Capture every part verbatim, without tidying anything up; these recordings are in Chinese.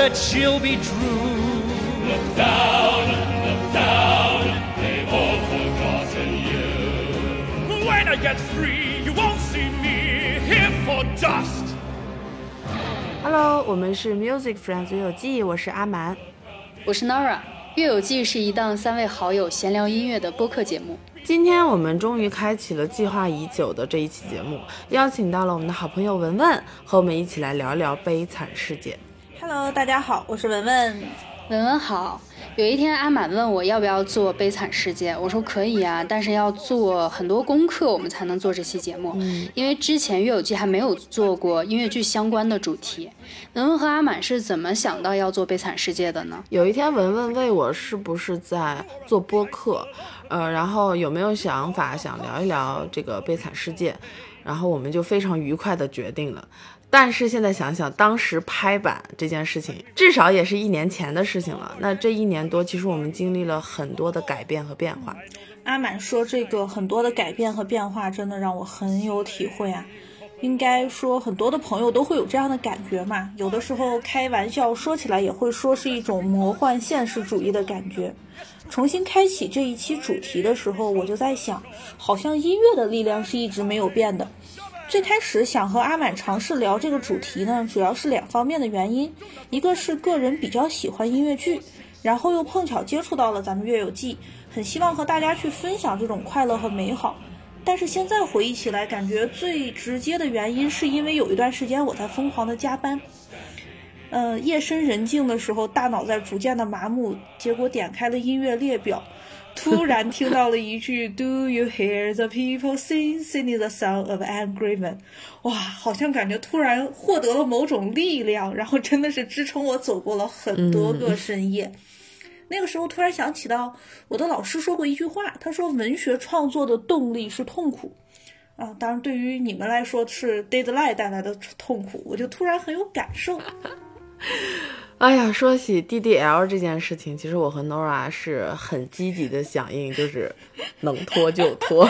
that she'll be true. Look down, look down, they've all forgotten you. When I get free, you won't see me here for dust. Hello， 我们是 Music Friends 乐友记，我是阿蛮， 我是 Nora。乐友记是一档三位好友闲聊音乐的播客节目。 今天我们终于开启了计划已久的这一期节目，邀请到了我们的好朋友文文，和我们一起来聊聊悲惨世界。 Hello， 大家好，我是文文。 文文好。有一天阿满问我要不要做悲惨世界，我说可以啊，但是要做很多功课我们才能做这期节目、嗯、因为之前乐友记还没有做过音乐剧相关的主题。文文和阿满是怎么想到要做悲惨世界的呢？ 有一天文文问我是不是在做播客，呃，然后有没有想法想聊一聊这个悲惨世界，然后我们就非常愉快的决定了。但是现在想想，当时拍板这件事情至少也是一年前的事情了，那这一年多其实我们经历了很多的改变和变化。 阿满说这个很多的改变和变化真的让我很有体会啊，应该说很多的朋友都会有这样的感觉嘛，有的时候开玩笑说起来也会说是一种魔幻现实主义的感觉。重新开启这一期主题的时候，我就在想，好像音乐的力量是一直没有变的。最开始想和阿满尝试聊这个主题呢，主要是两方面的原因，一个是个人比较喜欢音乐剧，然后又碰巧接触到了咱们乐友记，很希望和大家去分享这种快乐和美好。但是现在回忆起来，感觉最直接的原因是因为有一段时间我在疯狂的加班，呃，夜深人静的时候，大脑在逐渐的麻木，结果点开了音乐列表，突然听到了一句 Do you hear the people sing, singing the song of angry men。 哇，好像感觉突然获得了某种力量，然后真的是支撑我走过了很多个深夜、嗯、那个时候突然想起到我的老师说过一句话，他说文学创作的动力是痛苦啊，当然对于你们来说是 deadline 带来的痛苦，我就突然很有感受。 哎呀，说起 D D L 这件事情，其实我和 Nora 是很积极的响应，就是能拖就拖。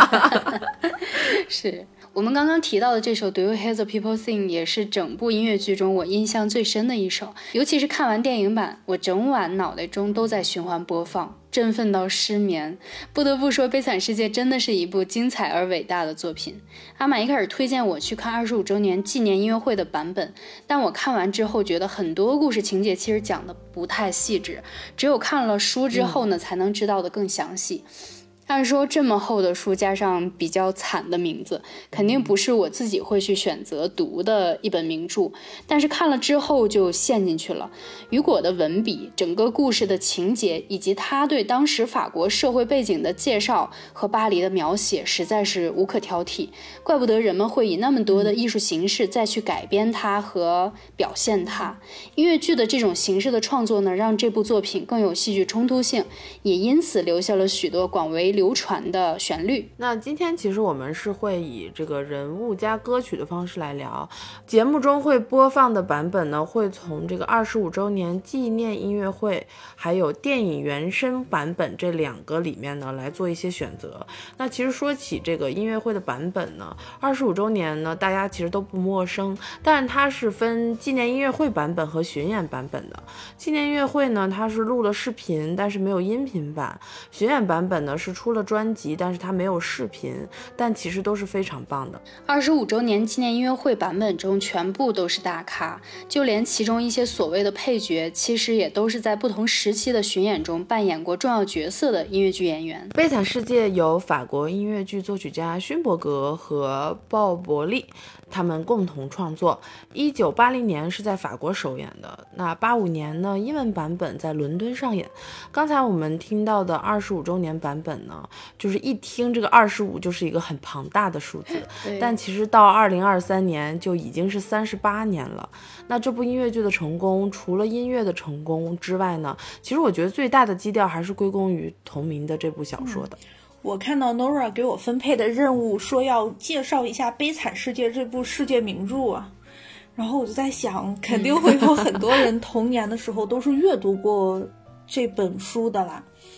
是我们刚刚提到的这首 Do You Hear the People Sing 也是整部音乐剧中我印象最深的一首，尤其是看完电影版，我整晚脑袋中都在循环播放，振奋到失眠。不得不说，悲惨世界真的是一部精彩而伟大的作品。阿满一开始推荐我去看二十五周年纪念音乐会的版本，但我看完之后觉得很多故事情节其实讲的不太细致，只有看了书之后呢、嗯、才能知道的更详细。按说这么厚的书加上比较惨的名字，肯定不是我自己会去选择读的一本名著，但是看了之后就陷进去了。雨果的文笔，整个故事的情节，以及他对当时法国社会背景的介绍和巴黎的描写，实在是无可挑剔。怪不得人们会以那么多的艺术形式再去改编它和表现它。音乐剧的这种形式的创作呢，让这部作品更有戏剧冲突性，也因此留下了许多广为流传的旋律。 那今天其实我们是会以这个人物加歌曲的方式来聊，节目中会播放的版本呢，会从这个二十五周年纪念音乐会还有电影原声版本这两个里面呢来做一些选择。那其实说起这个音乐会的版本呢，二十五周年呢大家其实都不陌生，但它是分纪念音乐会版本和巡演版本的。纪念音乐会呢，它是录了视频但是没有音频版，巡演版本呢是出了专辑，但是它没有视频，但其实都是非常棒的。 二十五周年纪念音乐会版本中全部都是大咖，就连其中一些所谓的配角，其实也都是在不同时期的巡演中扮演过重要角色的音乐剧演员。 悲惨世界由法国音乐剧作曲家勋伯格和鲍伯利他们共同创作，一九八零年是在法国首演的，那八五年呢英文版本在伦敦上演。刚才我们听到的二十五周年版本呢，就是一听这个二十五就是一个很庞大的数字，但其实到二零二三年就已经是三十八年了。那这部音乐剧的成功，除了音乐的成功之外呢，其实我觉得最大的基调还是归功于同名的这部小说的。 嗯，我看到 Nora 给我分配的任务说要介绍一下《悲惨世界》这部世界名著啊，然后我就在想，肯定会有很多人童年的时候都是阅读过这本书的啦。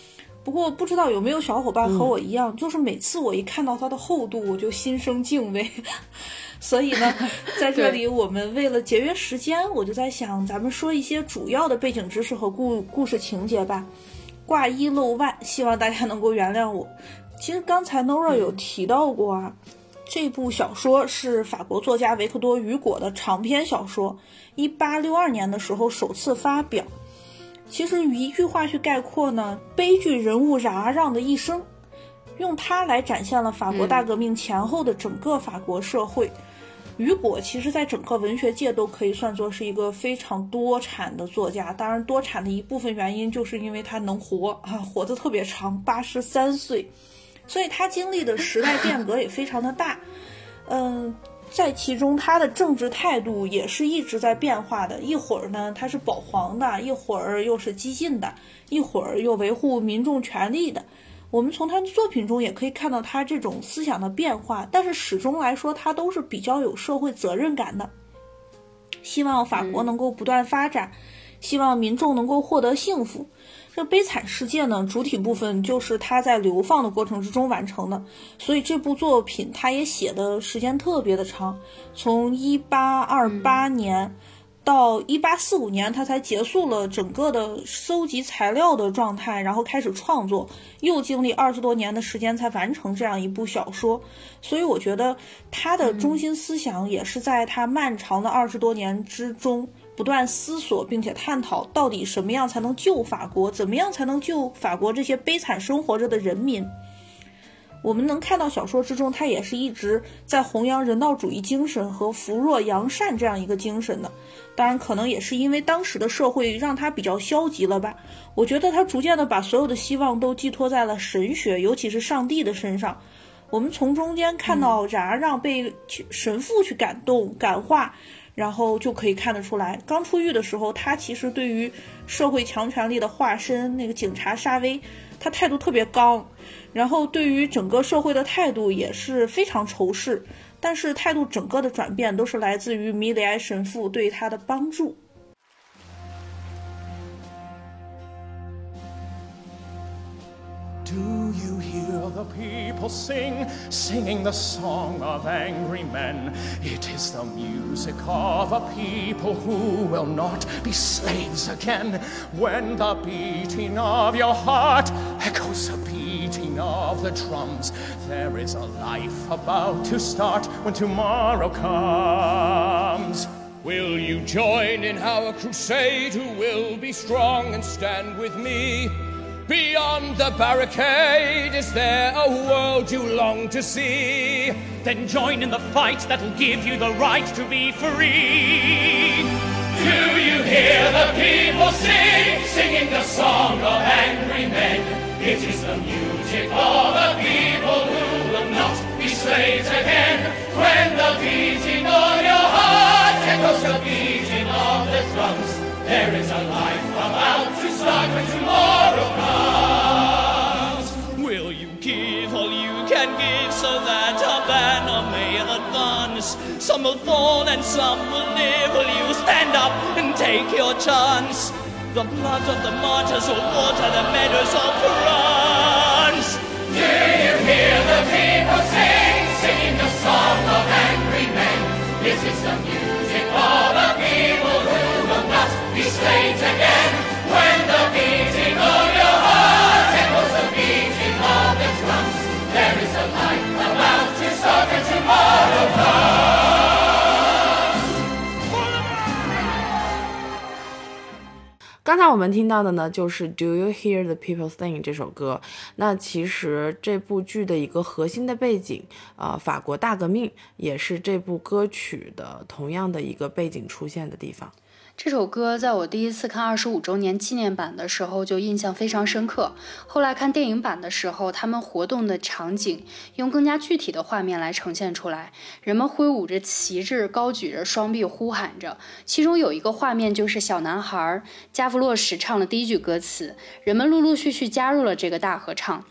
不过不知道有没有小伙伴和我一样、嗯、就是每次我一看到它的厚度我就心生敬畏所以呢在这里我们为了节约时间我就在想咱们说一些主要的背景知识和故故事情节吧。挂一漏万，希望大家能够原谅我。其实刚才 Nora 有提到过啊、嗯、这部小说是法国作家维克多·雨果的长篇小说，一八六二年的时候首次发表。其实一句话去概括呢，悲剧人物冉阿让的一生，用它来展现了法国大革命前后的整个法国社会。雨果其实在整个文学界都可以算作是一个非常多产的作家，当然多产的一部分原因就是因为他能活啊，活得特别长，八十三岁，所以他经历的时代变革也非常的大。嗯，在其中他的政治态度也是一直在变化的，一会儿呢他是保皇的，一会儿又是激进的，一会儿又维护民众权利的。我们从他的作品中也可以看到他这种思想的变化，但是始终来说他都是比较有社会责任感的，希望法国能够不断发展、嗯、希望民众能够获得幸福。这悲惨世界呢，主体部分就是他在流放的过程之中完成的，所以这部作品他也写的时间特别的长，从一八二八年、嗯到一八四五年他才结束了整个的搜集材料的状态，然后开始创作，又经历二十多年的时间才完成这样一部小说。所以我觉得他的中心思想也是在他漫长的二十多年之中不断思索并且探讨到底什么样才能救法国，怎么样才能救法国这些悲惨生活着的人民。我们能看到小说之中他也是一直在弘扬人道主义精神和扶弱扬善这样一个精神的，当然可能也是因为当时的社会让他比较消极了吧。我觉得他逐渐的把所有的希望都寄托在了神学，尤其是上帝的身上。我们从中间看到冉阿让被神父去感动感化，然后就可以看得出来，刚出狱的时候他其实对于社会强权力的化身那个警察沙威，他态度特别刚，然后对于整个社会的态度也是非常仇视，但是态度整个的转变都是来自于米里埃神父对他的帮助。 Do you hear the people sing, singing the song of angry men? It is the music of a people who will not be slaves again. When the beating of your heart echoes the beating of the drums, there is a life about to start when tomorrow comes. Will you join in our crusade? Who will be strong and stand with me? Beyond the barricade, is there a world you long to see? Then join in the fight that'll give you the right to be free. Do you hear the people sing, singing the song of angry men? It is the music of a people who will not be slaves again. When the beating of your heart echoes the beating of the drums, there is a life about to start when tomorrow comes. Will you give all you can give so that our banner may advance? Some will fall and some will live. Will you stand up and take your chance? The blood of the martyrs will water the meadows of France. Do you hear the people sing, singing the song of angry men? This is the music of a people who will not be slaves again. When the beating of your heart echoes the beating of the drums, there is a light about to start when tomorrow comes. 刚才我们听到的呢，就是 Do You Hear the People Sing 这首歌。那其实这部剧的一个核心的背景，呃，法国大革命也是这部歌曲的同样的一个背景出现的地方。 这首歌在我第一次看二十五周年纪念版的时候就印象非常深刻，后来看电影版的时候，他们活动的场景用更加具体的画面来呈现出来，人们挥舞着旗帜，高举着双臂呼喊着，其中有一个画面就是小男孩加弗洛什唱了第一句歌词，人们陆陆续续加入了这个大合唱。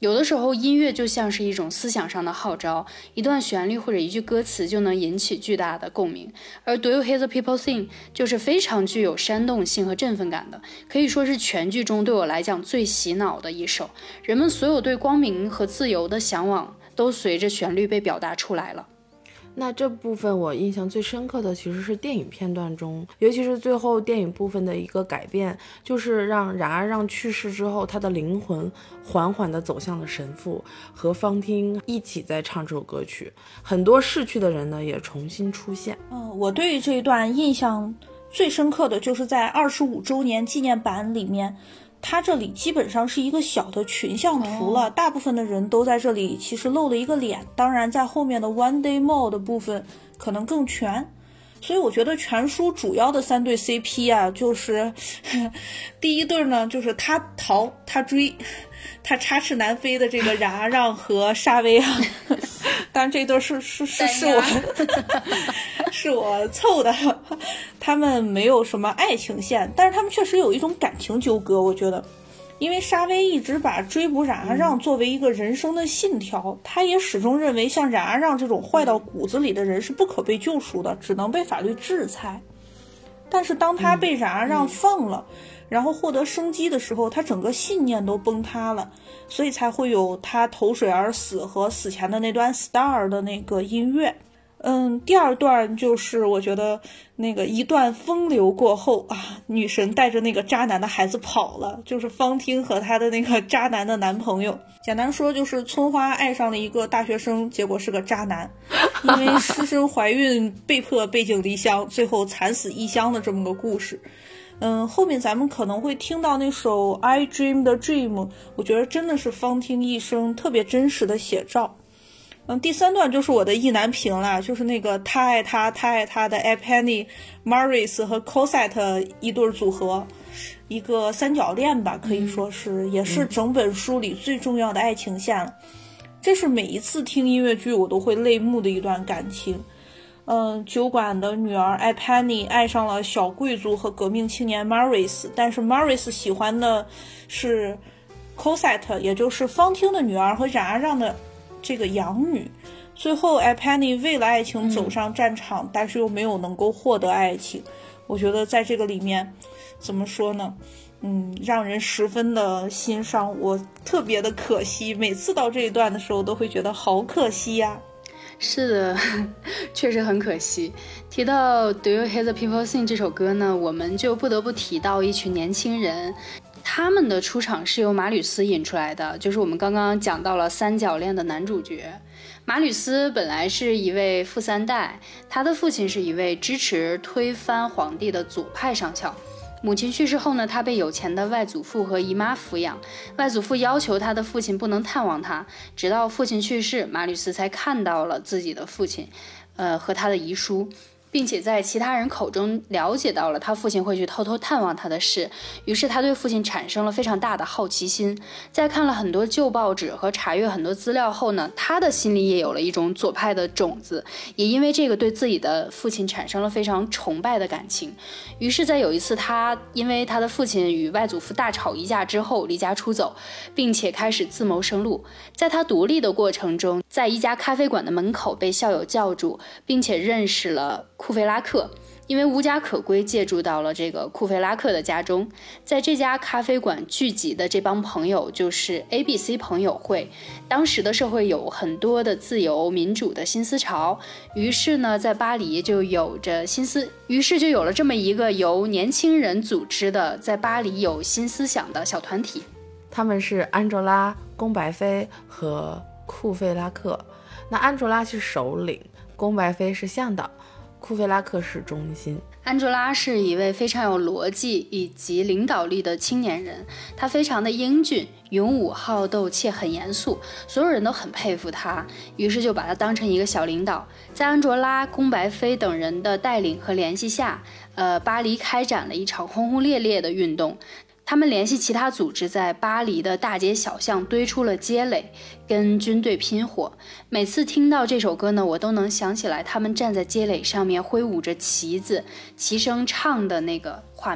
有的时候音乐就像是一种思想上的号召，一段旋律或者一句歌词就能引起巨大的共鸣。而 Do You Hear the People Sing 就是非常具有煽动性和振奋感的，可以说是全剧中对我来讲最洗脑的一首。人们所有对光明和自由的向往都随着旋律被表达出来了。 那这部分我印象最深刻的其实是电影片段中，尤其是最后电影部分的一个改变，就是让冉阿让去世之后，他的灵魂缓缓地走向了神父，和方汀一起在唱这首歌曲。很多逝去的人呢也重新出现。 嗯，我对这一段印象最深刻的就是在二十五周年纪念版里面，它这里基本上是一个小的群像图了，大部分的人都在这里其实露了一个脸，当然在后面的 One Day More 的部分可能更全。所以我觉得全书主要的三对 C P 啊，就是第一对呢就是他逃他追他插翅难飞的这个冉阿让和沙威啊，当然这对是是是是我是我凑的，他们没有什么爱情线，但是他们确实有一种感情纠葛。我觉得因为沙威一直把追捕冉阿让作为一个人生的信条、嗯、他也始终认为像冉阿让这种坏到骨子里的人是不可被救赎的，只能被法律制裁。但是当他被冉阿让放了、嗯、然后获得生机的时候，他整个信念都崩塌了，所以才会有他投水而死和死前的那段 Star 的那个音乐。嗯，第二段就是我觉得那个一段风流过后啊，女神带着那个渣男的孩子跑了，就是方汀和她的那个渣男的男朋友。简单说就是村花爱上了一个大学生，结果是个渣男，因为失身怀孕被迫背井离乡，最后惨死异乡的这么个故事。嗯，后面咱们可能会听到那首 I Dream the Dream， 我觉得真的是方汀一生特别真实的写照。嗯，第三段就是我的意难平了，就是那个他爱他他爱他的 Epany、Maurice 和 Cosette 一对组合，一个三角恋吧，可以说是、嗯、也是整本书里最重要的爱情线了、嗯、这是每一次听音乐剧我都会泪目的一段感情。嗯，酒馆的女儿 Epany 爱上了小贵族和革命青年 Maurice， 但是 Maurice 喜欢的是 Cosette， 也就是方汀的女儿和冉阿让的这个养女。最后 Epany 为了爱情走上战场、嗯、但是又没有能够获得爱情。我觉得在这个里面怎么说呢，嗯，让人十分的心伤，我特别的可惜，每次到这一段的时候都会觉得好可惜呀、啊。 是的，确实很可惜。提到 Do You Hear the People Sing 这首歌呢，我们就不得不提到一群年轻人，他们的出场是由马吕斯引出来的，就是我们刚刚讲到了三角恋的男主角。马吕斯本来是一位富三代，他的父亲是一位支持推翻皇帝的左派上校。母亲去世后呢，他被有钱的外祖父和姨妈抚养，外祖父要求他的父亲不能探望他，直到父亲去世，马吕斯才看到了自己的父亲呃，和他的遗书，并且在其他人口中了解到了他父亲会去偷偷探望他的事，于是他对父亲产生了非常大的好奇心。在看了很多旧报纸和查阅很多资料后呢，他的心里也有了一种左派的种子，也因为这个对自己的父亲产生了非常崇拜的感情。于是在有一次，他因为他的父亲与外祖父大吵一架之后离家出走，并且开始自谋生路。在他独立的过程中，在一家咖啡馆的门口被校友叫住，并且认识了库菲拉克，因为无家可归借住到了这个库菲拉克的家中。在这家咖啡馆聚集的这帮朋友就是 A B C 朋友会，当时的社会有很多的自由民主的新思潮，于是呢在巴黎就有着新思于是就有了这么一个由年轻人组织的在巴黎有新思想的小团体。 他们是安卓拉、宫白飞和库菲拉克。那安卓拉是首领，宫白飞是向导，库菲拉克是中心。 安卓拉是一位非常有逻辑以及领导力的青年人，他非常的英俊、勇武、好斗且很严肃，所有人都很佩服他，于是就把他当成一个小领导。在安卓拉、宫白飞等人的带领和联系下，呃，巴黎开展了一场轰轰烈烈的运动。他们联系其他组织，在巴黎的大街小巷堆出了街垒，跟军队拼火。每次听到这首歌呢，我都能想起来他们站在街垒上面挥舞着旗子，齐声唱的那个画面。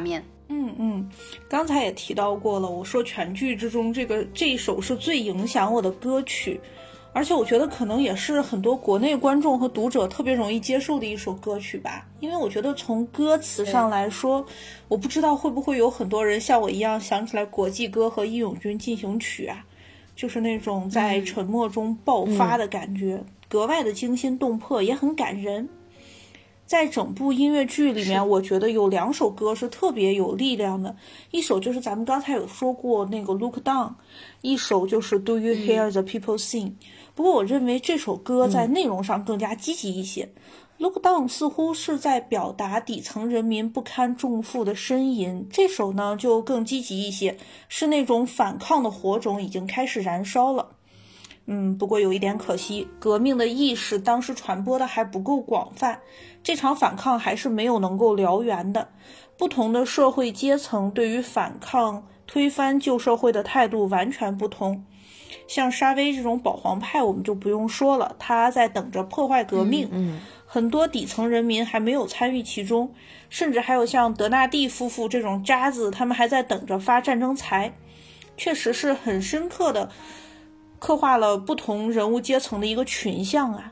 嗯嗯，刚才也提到过了，我说全剧之中这个这一首是最影响我的歌曲，而且我觉得可能也是很多国内观众和读者特别容易接受的一首歌曲吧。因为我觉得从歌词上来说，我不知道会不会有很多人像我一样想起来国际歌和义勇军进行曲啊，就是那种在沉默中爆发的感觉，嗯、格外的惊心动魄，也很感人。在整部音乐剧里面，我觉得有两首歌是特别有力量的，一首就是咱们刚才有说过那个 Look Down， 一首就是 Do You Hear the People Sing、嗯、不过我认为这首歌在内容上更加积极一些、嗯、Look Down 似乎是在表达底层人民不堪重负的呻吟，这首呢就更积极一些，是那种反抗的火种已经开始燃烧了。嗯，不过有一点可惜，革命的意识当时传播的还不够广泛，这场反抗还是没有能够燎原的。不同的社会阶层对于反抗、推翻旧社会的态度完全不同。像沙威这种保皇派我们就不用说了，他在等着破坏革命， 嗯嗯、 很多底层人民还没有参与其中，甚至还有像德纳第夫妇这种渣子，他们还在等着发战争财。确实是很深刻的刻画了不同人物阶层的一个群像啊。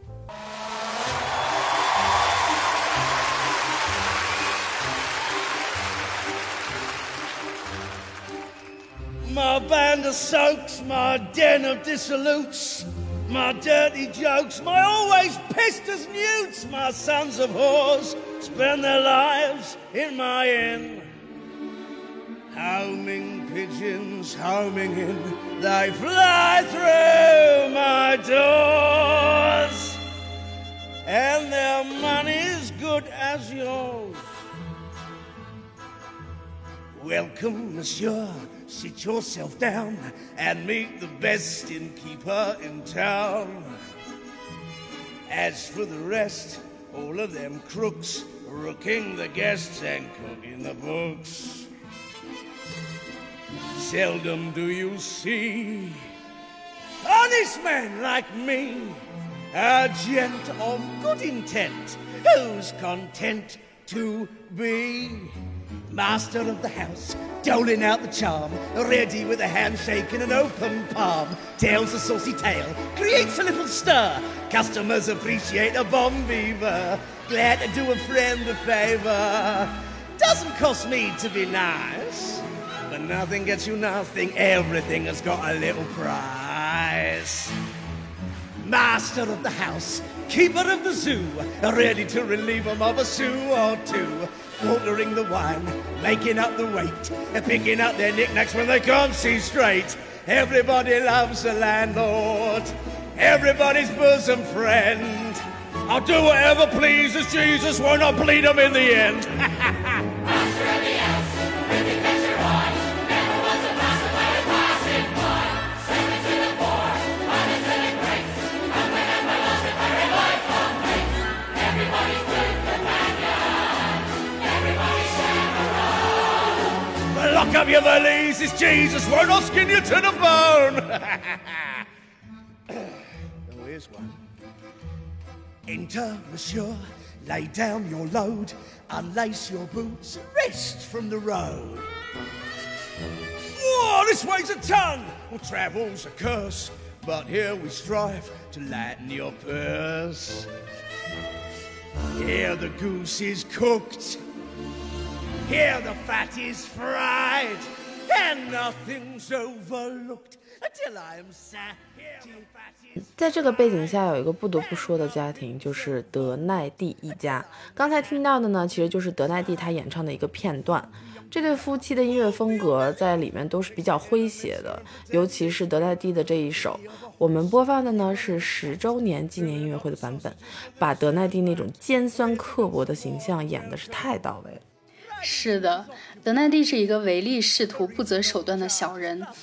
My band of soaks, my den of dissolutes, my dirty jokes, my always pissed as newts, my sons of whores spend their lives in my inn. Homing pigeons homing in, they fly through my doors, and their money's good as yours. Welcome, monsieur, sit yourself down and meet the best innkeeper in town. As for the rest, all of them crooks, rooking the guests and cooking the books. Seldom do you see honest men like me, a gent of good intent, who's content to be master of the house, doling out the charm, ready with a handshake and an open palm. Tells a saucy tale, creates a little stir. Customers appreciate a bon vivant. Glad to do a friend a favor. Doesn't cost me to be nice, but nothing gets you nothing. Everything has got a little price. Master of the house, keeper of the zoo, ready to relieve them of a sou or two. Ordering the wine, making up the weight, picking up their knickknacks when they can't see straight. Everybody loves a landlord, everybody's bosom friend. I'll do whatever pleases Jesus, won't I bleed them in the end? Master of the house, really catch your eye. Never was a master by a passing by. Serving to the poor, honest and great. I'm when I'm my lost if I revive from hate. Everybody's good companion, everybody's chaperone. Lock up your valises, Jesus, won't I skin you to the bone? Oh, here's one. Enter, monsieur, lay down your load, unlace your boots, rest from the road. Whoa, this weighs a ton, well, travel's a curse, but here we strive to lighten your purse. Here the goose is cooked, here the fat is fried, and nothing's overlooked until I am sat here the fat is... 在这个背景下，有一个不得不说的家庭，就是德奈蒂一家。刚才听到的呢，其实就是德奈蒂他演唱的一个片段。这对夫妻的音乐风格在里面都是比较诙谐的，尤其是德奈蒂的这一首。我们播放的呢是十周年纪念音乐会的版本，把德奈蒂那种尖酸刻薄的形象演的是太到位了。 是的，德奈蒂是一个唯利是图、不择手段的小人。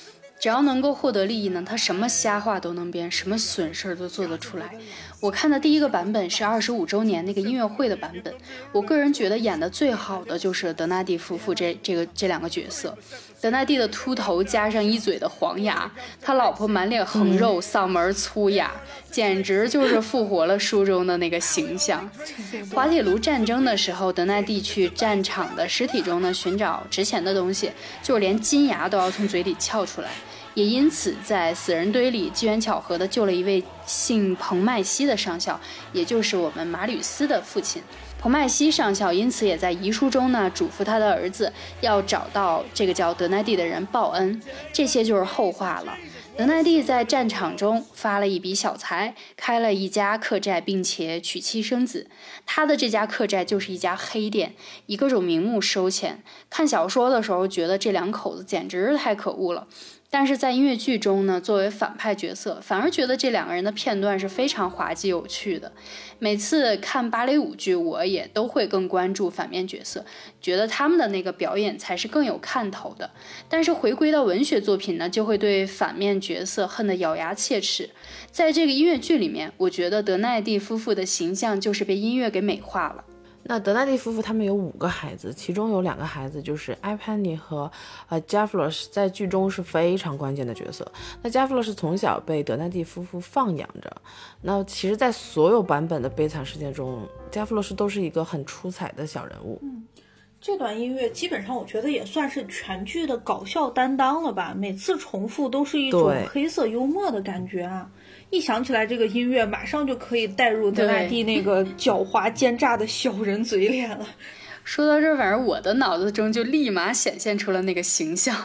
只要能够获得利益呢，他什么瞎话都能编，什么损事都做得出来。我看的第一个版本是二十五周年那个音乐会的版本，我个人觉得演的最好的就是德纳第夫妇这这个这两个角色。德纳第的秃头加上一嘴的黄牙，他老婆满脸横肉，嗓门粗哑，简直就是复活了书中的那个形象。滑铁卢战争的时候，德纳第去战场的尸体中呢寻找值钱的东西，就是连金牙都要从嘴里撬出来。也因此在死人堆里机缘巧合的救了一位姓彭麦西的上校，也就是我们马吕斯的父亲。彭麦西上校因此也在遗书中呢嘱咐他的儿子要找到这个叫德奈蒂的人报恩，这些就是后话了。德奈蒂在战场中发了一笔小财，开了一家客栈，并且娶妻生子。他的这家客栈就是一家黑店，以各种名目收钱。看小说的时候觉得这两口子简直太可恶了，但是在音乐剧中呢，作为反派角色，反而觉得这两个人的片段是非常滑稽有趣的。每次看芭蕾舞剧，我也都会更关注反面角色，觉得他们的那个表演才是更有看头的。但是回归到文学作品呢，就会对反面角色恨得咬牙切齿。在这个音乐剧里面，我觉得德奈蒂夫妇的形象就是被音乐给美化了。 那德奈蒂夫妇他们有五个孩子，其中有两个孩子就是艾潘尼和呃加弗洛什，在剧中是非常关键的角色。那加弗洛什从小被德奈蒂夫妇放养着，那其实在所有版本的悲惨世界中，加弗洛什都是一个很出彩的小人物。 嗯，这段音乐基本上我觉得也算是全剧的搞笑担当了吧，每次重复都是一种黑色幽默的感觉啊。一想起来这个音乐，马上就可以带入德奈蒂那个狡猾奸诈的小人嘴脸了。 说到这，反正我的脑子中就立马显现出了那个形象。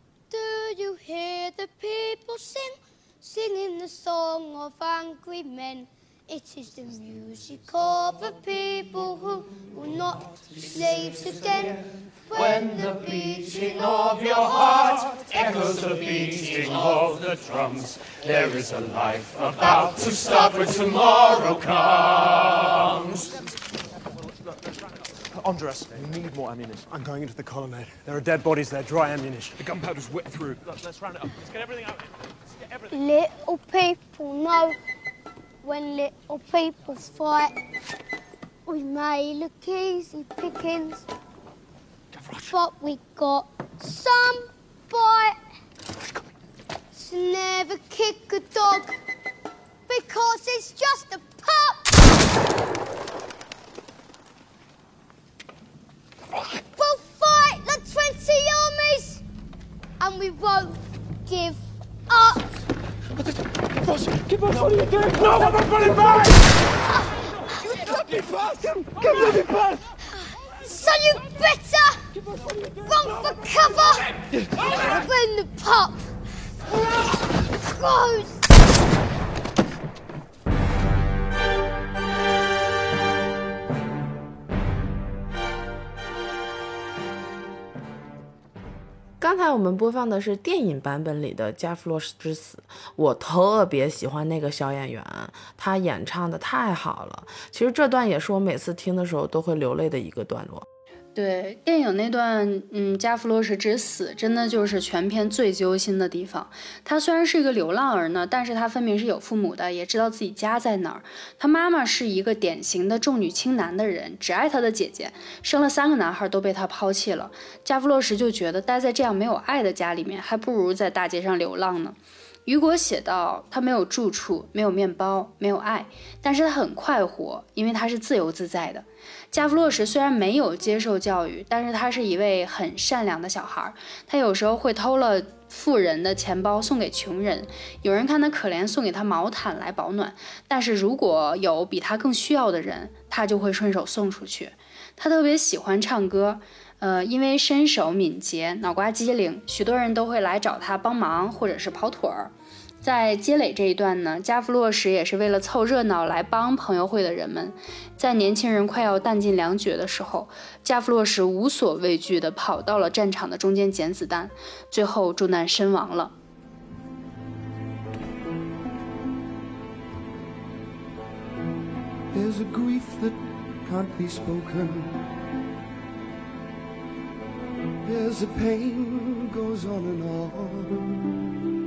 Do you hear the people sing, singing the song of angry men? It is the music of a people who will not be slaves again. When the beating of your heart echoes the beating of the drums, there is a life about to start when tomorrow comes. Under us. We need more ammunition. I'm going into the colonnade. There are dead bodies there, dry ammunition. The gunpowder's wet through. Look, let's round it up. Let's get everything out. Let's get everything. Little people know when little people fight. We may look easy pickings, but we got some bite. So never kick a dog because it's just a pup. We'll fight the twenty armies, and we won't give up. Ross, keep on what are you doing? No, I'm not running back! You let me pass him! Come let me pass! So you better run for cover when the pup goes. 刚才我们播放的是电影版本里的加弗洛什之死，我特别喜欢那个小演员，他演唱的太好了。其实这段也是我每次听的时候都会流泪的一个段落。 对，电影那段嗯，加弗洛什之死真的就是全片最揪心的地方。他虽然是一个流浪儿呢，但是他分明是有父母的，也知道自己家在哪儿。他妈妈是一个典型的重女轻男的人，只爱他的姐姐，生了三个男孩都被他抛弃了。加弗洛什就觉得待在这样没有爱的家里面，还不如在大街上流浪呢。雨果写道，他没有住处，没有面包，没有爱，但是他很快活，因为他是自由自在的。加弗洛什虽然没有接受教育，但是他是一位很善良的小孩，他有时候会偷了富人的钱包送给穷人，有人看他可怜送给他毛毯来保暖，但是如果有比他更需要的人，他就会顺手送出去。他特别喜欢唱歌，呃，因为身手敏捷，脑瓜机灵，许多人都会来找他帮忙或者是跑腿儿。在街垒这一段呢，加弗洛什也是为了凑热闹来帮朋友会的人们。在年轻人快要弹尽粮绝的时候，加弗洛什无所畏惧地跑到了战场的中间捡子弹，最后中弹身亡了。 There's a grief that can't be spoken. There's a pain goes on and on.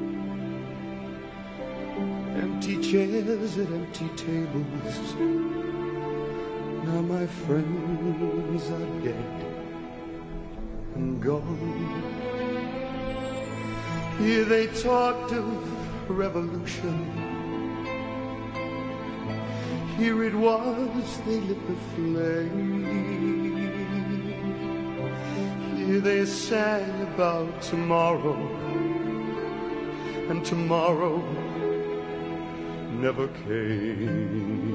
empty chairs at empty tables. Now my friends are dead and gone. Here they talked of revolution. Here it was they lit the flame. Here they sang about tomorrow, and tomorrow never came.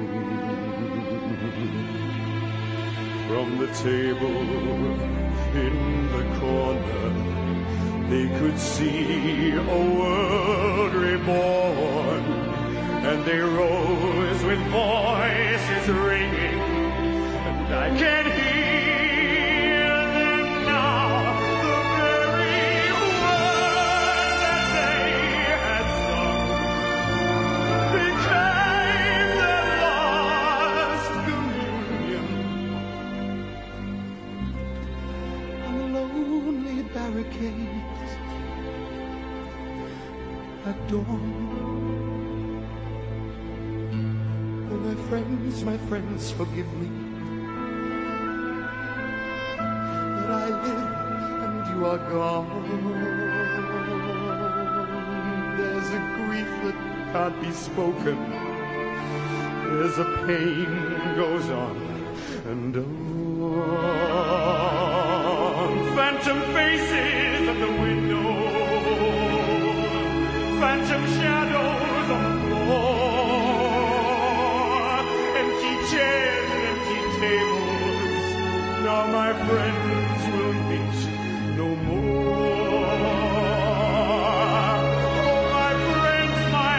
From the table in the corner, they could see a world reborn, and they rose with voices ringing, and I can hear them now, the very words that they had sung became their last communion. On the lonely barricades at dawn, oh my friends, my friends, forgive me that I live and you are gone. There's a grief that can't be spoken, there's a pain goes on and on. Phantom faces at the window, phantom shadows on the floor, empty chairs and empty tables. Now my friends will meet no more. Oh, my friends, my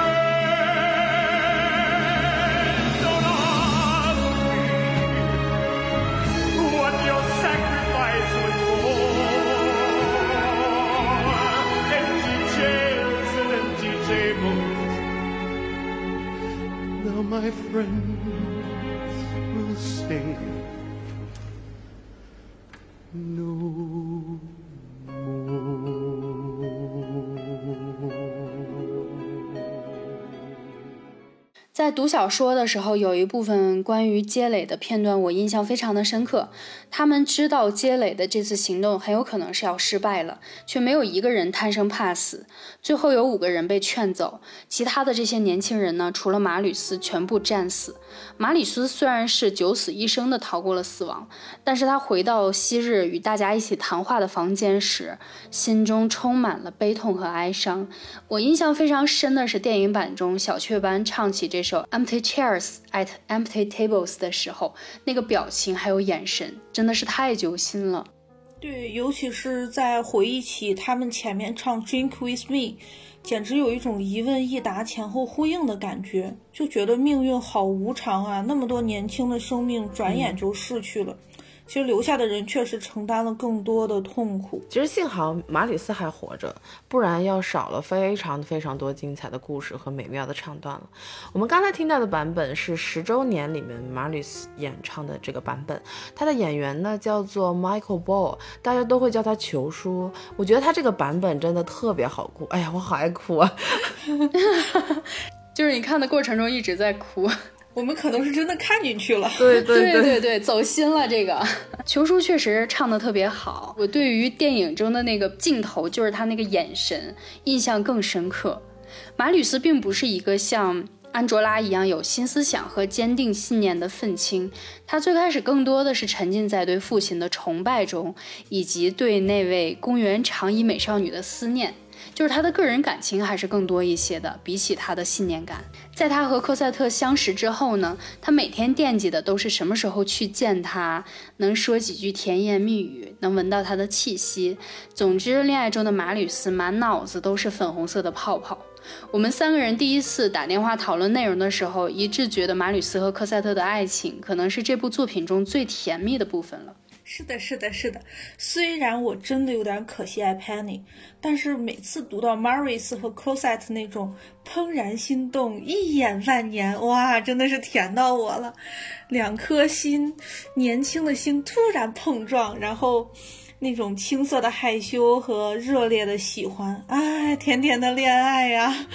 friends, don't ask me what your sacrifice was for. Empty chairs and empty tables. Now my friends will sing no more. 在读小说的时候，有一部分关于街磊的片段我印象非常的深刻。他们知道街磊的这次行动很有可能是要失败了，却没有一个人贪生怕死。最后有五个人被劝走，其他的这些年轻人呢，除了马吕斯全部战死。马吕斯虽然是九死一生的逃过了死亡，但是他回到昔日与大家一起谈话的房间时，心中充满了悲痛和哀伤。我印象非常深的是电影版中小雀斑唱起这首 Empty Chairs at Empty Tables 的时候，那个表情还有眼神真的是太揪心了。 对，尤其是在回忆起他们前面唱 Drink with me， 简直有一种一问一答前后呼应的感觉，就觉得命运好无常啊，那么多年轻的生命转眼就逝去了。嗯，其实留下的人确实承担了更多的痛苦。 其实幸好马吕斯还活着，不然要少了非常非常多精彩的故事和美妙的唱段了。我们刚才听到的版本是十周年里面马吕斯演唱的这个版本，他的演员呢叫做 Michael Ball， 大家都会叫他球叔。我觉得他这个版本真的特别好哭，哎呀，我好爱哭啊！ 就是你看的过程中一直在哭。 我们可能是真的看进去了， 对对对对对对，走心了。这个球叔确实唱得特别好，我对于电影中的那个镜头，就是他那个眼神印象更深刻。马吕斯并不是一个像安卓拉一样有新思想和坚定信念的愤青，他最开始更多的是沉浸在对父亲的崇拜中，以及对那位公园长衣美少女的思念，就是他的个人感情还是更多一些的，比起他的信念感。在他和科赛特相识之后呢，他每天惦记的都是什么时候去见他，能说几句甜言蜜语，能闻到他的气息。总之，恋爱中的马吕斯满脑子都是粉红色的泡泡。我们三个人第一次打电话讨论内容的时候，一致觉得马吕斯和科赛特的爱情可能是这部作品中最甜蜜的部分了。 是的，是的，是的。虽然我真的有点可惜爱 Penny， 但是每次读到 Maurice 和 Cosette 那种怦然心动、一眼万年，哇，真的是甜到我了。两颗心，年轻的心突然碰撞，然后那种青涩的害羞和热烈的喜欢，哎，甜甜的恋爱呀！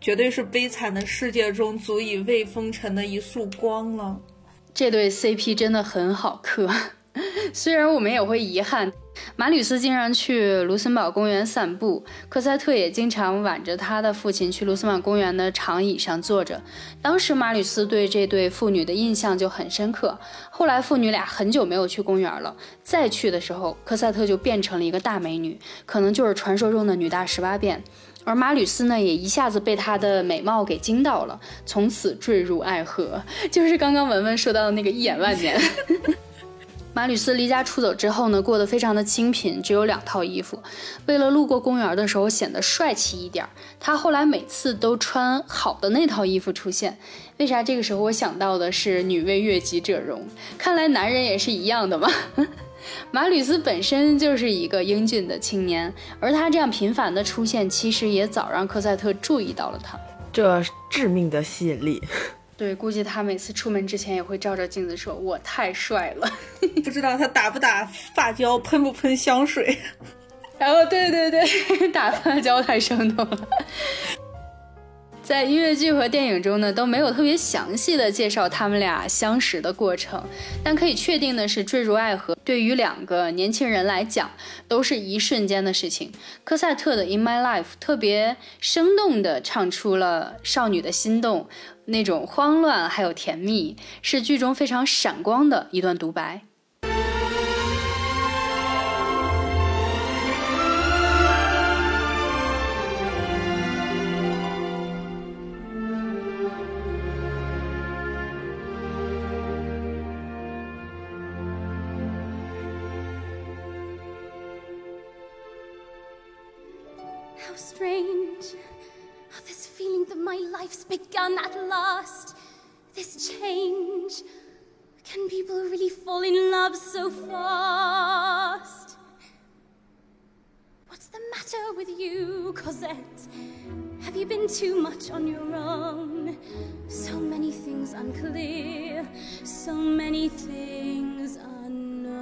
绝对是悲惨的世界中足以未风尘的一束光了。 这对 C P 真的很好磕，虽然我们也会遗憾，马吕斯经常去卢森堡公园散步，科赛特也经常挽着他的父亲去卢森堡公园的长椅上坐着。当时马吕斯对这对父女的印象就很深刻，后来父女俩很久没有去公园了，再去的时候科赛特就变成了一个大美女，可能就是传说中的女大十八变。而马吕斯呢，也一下子被她的美貌给惊到了，从此坠入爱河，就是刚刚文文说到的那个一眼万年。马吕斯离家出走之后呢，过得非常的清贫，只有两套衣服。为了路过公园的时候显得帅气一点，他后来每次都穿好的那套衣服出现。为啥这个时候我想到的是女为悦己者容？看来男人也是一样的嘛。马吕斯本身就是一个英俊的青年，而他这样频繁的出现，其实也早让科赛特注意到了他。 这致命的吸引力。 对，估计他每次出门之前也会照着镜子说我太帅了。 不知道他打不打发胶，喷不喷香水。 然后对对对，打发胶太生动了。在音乐剧和电影中呢，都没有特别详细的介绍他们俩相识的过程，但可以确定的是，坠入爱河对于两个年轻人来讲都是一瞬间的事情。科赛特的 In My Life 特别生动地唱出了少女的心动，那种慌乱还有甜蜜，是剧中非常闪光的一段独白。 How strange, oh, this feeling that my life's begun at last, this change. Can people really fall in love so fast? What's the matter with you, Cosette? Have you been too much on your own? So many things unclear, so many things unknown.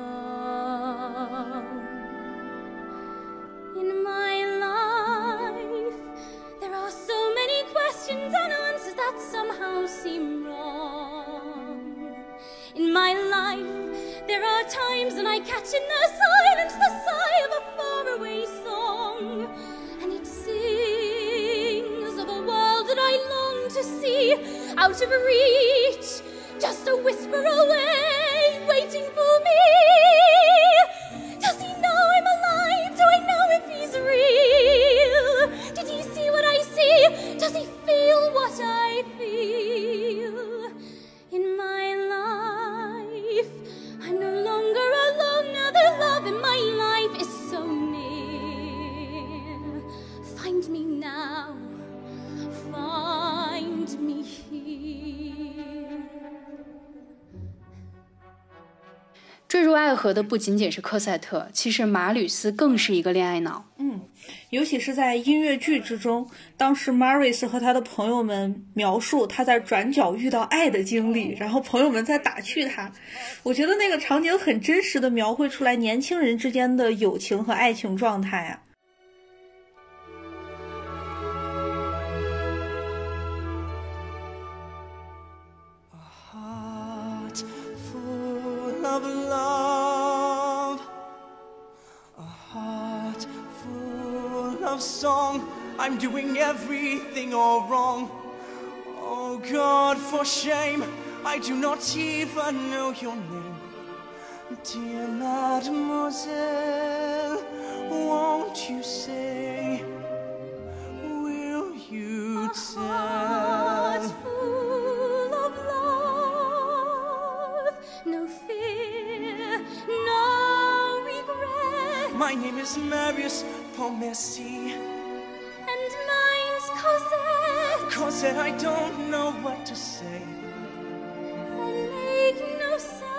In my life, there are so many questions and answers that somehow seem wrong. In my life, there are times when I catch in the silence the sigh of a faraway song, and it sings of a world that I long to see, out of reach, just a whisper away, waiting for me. Does he know I'm alive? Do I know if he's real? Did he see what I see? Does he feel what I feel? In my life, I'm no longer alone. Now the love in my life is so near. Find me now, find me here. 坠入爱河的不仅仅是科赛特，其实马吕斯更是一个恋爱脑。 嗯，尤其是在音乐剧之中，当时 Maurice 和他的朋友们描述他在转角遇到爱的经历，然后朋友们在打趣他，我觉得那个场景很真实的描绘出来年轻人之间的友情和爱情状态啊。 Of love, a heart full of song. I'm doing everything all wrong. Oh God, for shame, I do not even know your name. Dear mademoiselle, won't you say, will you tell? No fear, no regret. My name is Marius Pontmercy. And mine's Cosette. Cosette, I don't know what to say. Then make no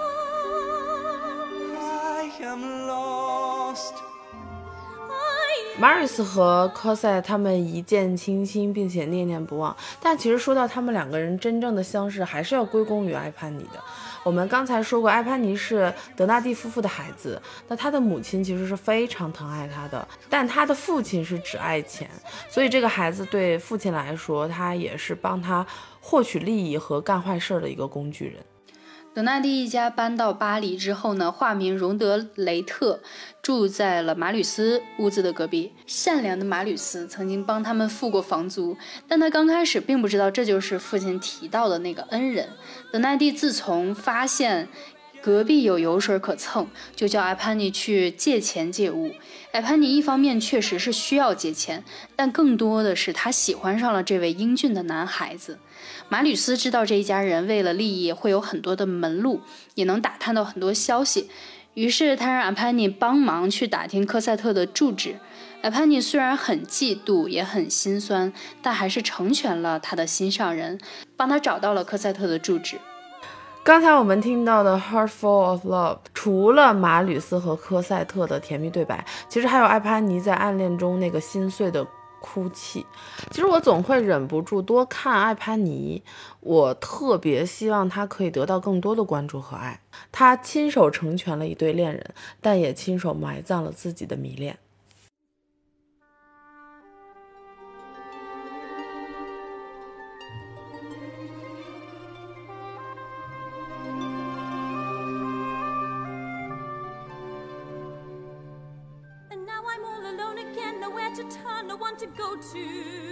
sound. I am lost. I Marius 和科赛他们一见倾心并且念念不忘，但其实说到他们两个人真正的相识，还是要归功于艾潘尼的。我们刚才说过，艾潘尼是德纳第夫妇的孩子，那他的母亲其实是非常疼爱他的，但他的父亲是只爱钱，所以这个孩子对父亲来说，他也是帮他获取利益和干坏事的一个工具人。 德纳第一家搬到巴黎之后呢，化名荣德雷特，住在了马吕斯屋子的隔壁。善良的马吕斯曾经帮他们付过房租，但他刚开始并不知道这就是父亲提到的那个恩人。德纳第自从发现隔壁有油水可蹭，就叫艾潘尼去借钱借物。艾潘尼一方面确实是需要借钱，但更多的是他喜欢上了这位英俊的男孩子。马吕斯知道这一家人为了利益会有很多的门路，也能打探到很多消息，于是他让艾潘尼帮忙去打听科赛特的住址。艾潘尼虽然很嫉妒也很心酸，但还是成全了他的心上人，帮他找到了科赛特的住址。 刚才我们听到的 Heartful of Love 除了马吕斯和科赛特的甜蜜对白，其实还有艾潘尼在暗恋中那个心碎的哭泣。其实我总会忍不住多看艾潘尼，我特别希望他可以得到更多的关注和爱。他亲手成全了一对恋人，但也亲手埋葬了自己的迷恋。 To go to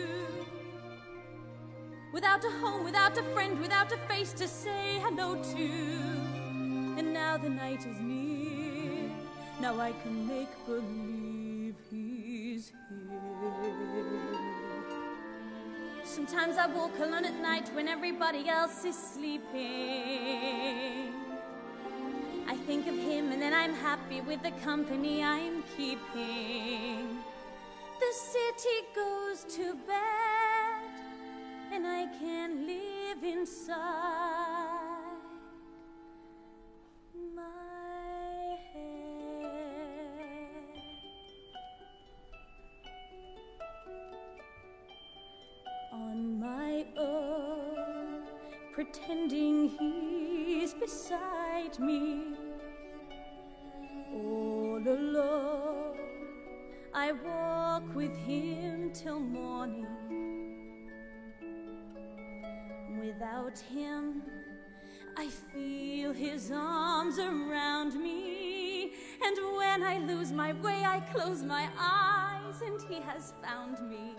without a home, without a friend, without a face to say hello to. And now the night is near, now I can make believe he's here. Sometimes I walk alone at night when everybody else is sleeping. I think of him and then I'm happy with the company I'm keeping. The city goes to bed, and I can live inside my head. On my own, pretending he's beside me, all alone. I walk with him till morning. Without him, I feel his arms around me. And when I lose my way, I close my eyes, and he has found me.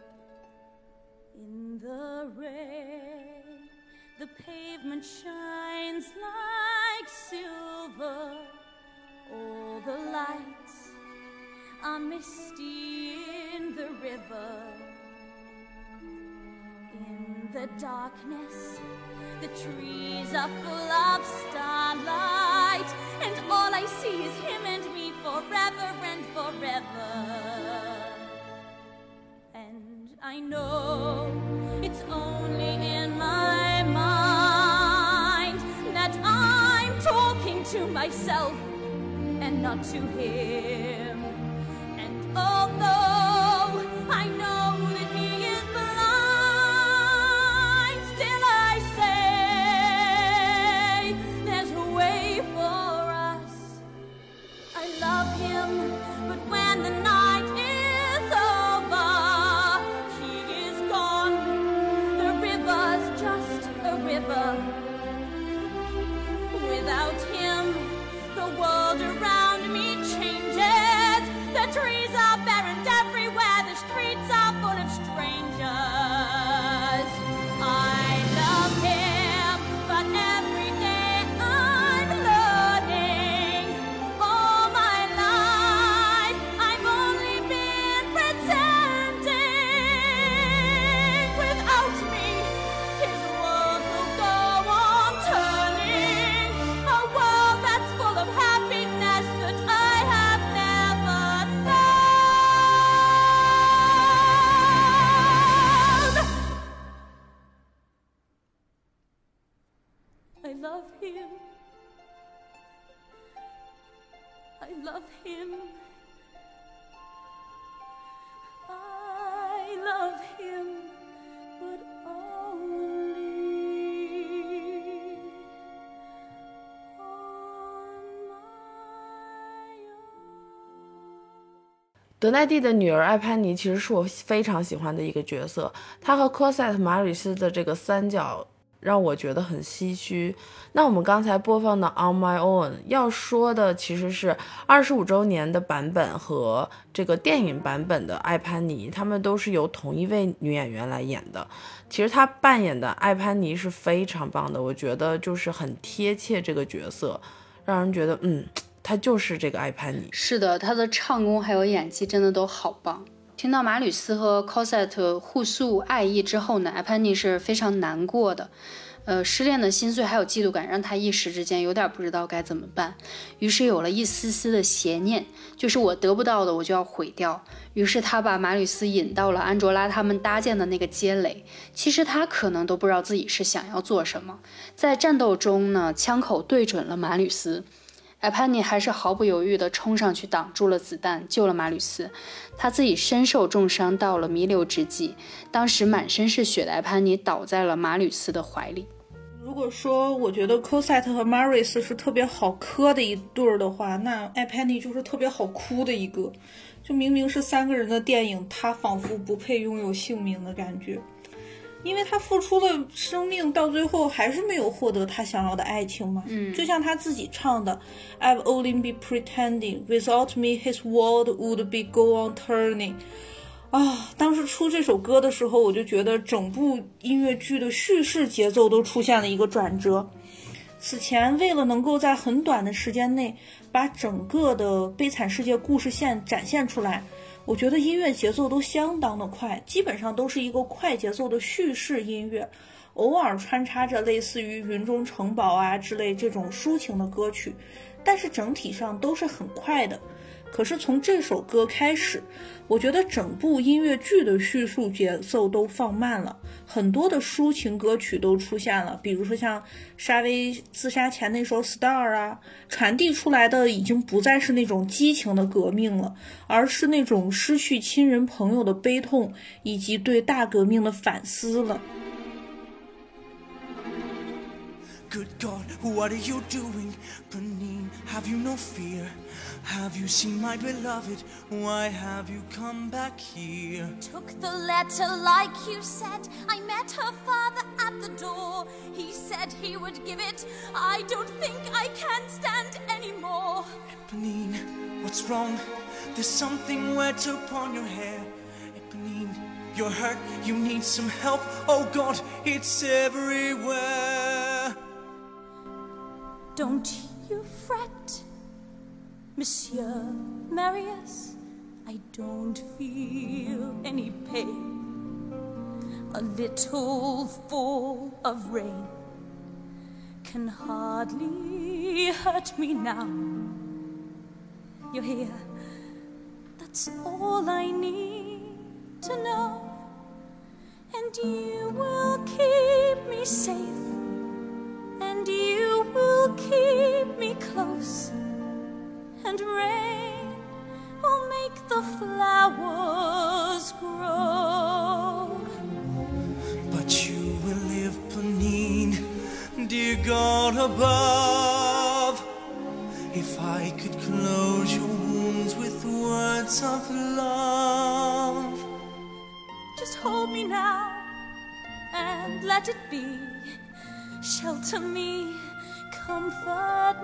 In the rain, the pavement shines like silver. All the lights are misty in the river. In the darkness, the trees are full of starlight, and all I see is him and me forever and forever. And I know it's only in my mind that I'm talking to myself and not to him. Although I know that he is blind, still I say there's a way for us. I love him, but when the night is over, he is gone. The river's just a river. Without him, the world around me changes. The trees are barren everywhere, the streets are full of strangers. I love him, but every day I'm learning. All my life I've only been pretending. Without me, his world will go on turning. A world that's full of happiness that I have never. I love him. I love him. 德奈蒂的女儿艾潘妮其实是我非常喜欢的一个角色，她和科赛特马吕斯的这个三角让我觉得很唏嘘。那我们刚才播放的 On My Own 要说的其实是二十五周年的版本和这个电影版本的艾潘妮，他们都是由同一位女演员来演的。其实她扮演的艾潘妮是非常棒的，我觉得就是很贴切这个角色，让人觉得嗯，她就是这个艾潘妮。 是的，她的唱功还有演技真的都好棒。听到马吕斯和 Cosette 互诉爱意之后呢，艾潘妮是非常难过的。呃，失恋的心碎还有嫉妒感让他一时之间有点不知道该怎么办，于是有了一丝丝的邪念，就是我得不到的我就要毁掉。于是他把马吕斯引到了安卓拉他们搭建的那个街垒，其实他可能都不知道自己是想要做什么。在战斗中呢，枪口对准了马吕斯，艾潘妮还是毫不犹豫地冲上去挡住了子弹，救了马吕斯。他自己身受重伤，到了弥留之际，当时满身是血的艾潘妮倒在了马吕斯的怀里。 如果说我觉得 Cosette 和 Maurice 是特别好磕的一对儿的话，那艾潘妮就是特别好哭的一个。就明明是三个人的电影，他仿佛不配拥有姓名的感觉，因为他付出了生命，到最后还是没有获得他想要的爱情嘛。 嗯， 就像他自己唱的 I've only been pretending without me his world would be go on turning。啊，当时出这首歌的时候，我就觉得整部音乐剧的叙事节奏都出现了一个转折。此前为了能够在很短的时间内把整个的悲惨世界故事线展现出来，我觉得音乐节奏都相当的快，基本上都是一个快节奏的叙事音乐，偶尔穿插着类似于云中城堡啊之类这种抒情的歌曲，但是整体上都是很快的。可是从这首歌开始，我觉得整部音乐剧的叙述节奏都放慢了，很多的抒情歌曲都出现了，比如说像沙威自杀前那首 Star 啊，传递出来的已经不再是那种激情的革命了，而是那种失去亲人朋友的悲痛以及对大革命的反思了。 Good God, what are you doing? Pranine, have you no fear? Have you seen my beloved? Why have you come back here? Took the letter like you said. I met her father at the door. He said he would give it. I don't think I can stand anymore. Pranine, what's wrong? There's something wet upon your hair. Pranine, you're hurt. You need some help. Oh God, it's everywhere. Don't you fret, Monsieur Marius, I don't feel any pain. A little fall of rain can hardly hurt me now. You're here, that's all I need to know. And you will keep me safe, and you will keep me close, and rain will make the flowers grow. But you will live, Pranine, dear God above. If I could close your wounds with words of love. Just hold me now and let it be. Shelter me, comfort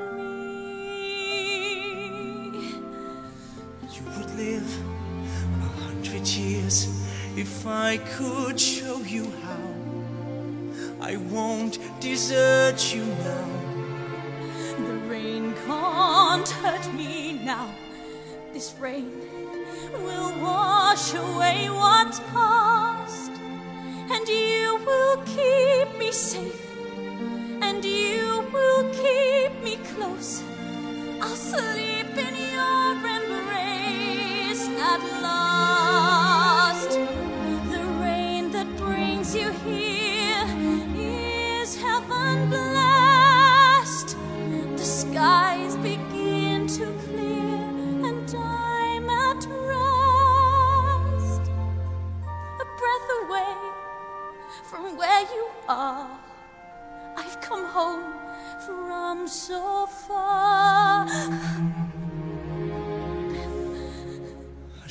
me. You would live a hundred years if I could show you how. I won't desert you now. The rain can't hurt me now. This rain will wash away what's past, and you will keep me safe, and you will keep me close. I'll sleep in your embrace at last. The rain that brings you here is heaven blessed. The skies begin to clear and I'm at rest. A breath away from where you are, I've come home from so far.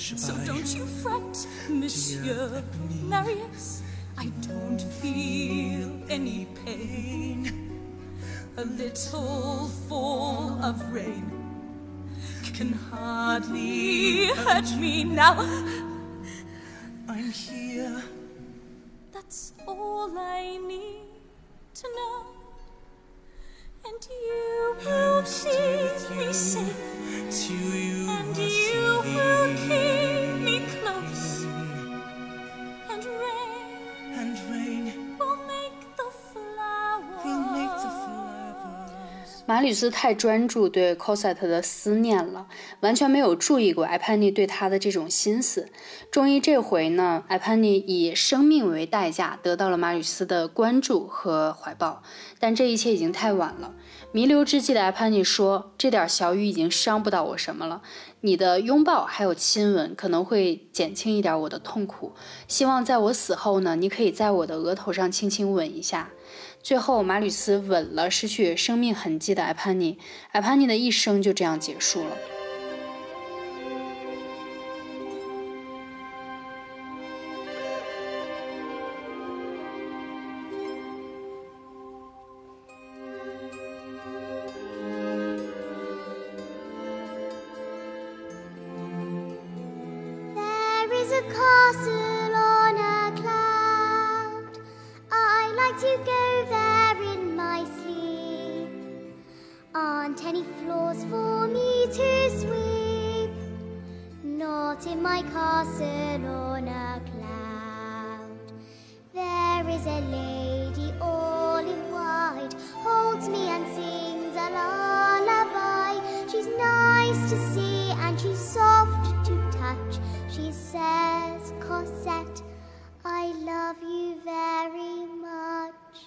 So don't you fret, Monsieur Marius. I don't feel any pain. A little fall of rain can hardly hurt me now. I'm here. That's all I need to know. And you will keep me safe. To you and you will keep me close. And rain, and rain will make the flowers. Will make the flowers. 马吕斯太专注对 Cosette 的思念了，完全没有注意过艾潘尼对他的这种心思。终于这回呢，艾潘尼以生命为代价得到了马吕斯的关注和怀抱，但这一切已经太晚了。弥留之际的艾潘尼说，这点小雨已经伤不到我什么了，你的拥抱还有亲吻可能会减轻一点我的痛苦，希望在我死后呢，你可以在我的额头上轻轻吻一下。最后马吕斯吻了失去生命痕迹的艾潘尼，艾潘尼的一生就这样结束了。 There is a castle on a cloud. I like to go there in my sleep. Aren't any floors for me to sweep? Not in my castle on a cloud. There is a lady all in white, holds me and sings a lullaby. She's nice to see and she's soft to touch. She says, Cosette, I love you very much.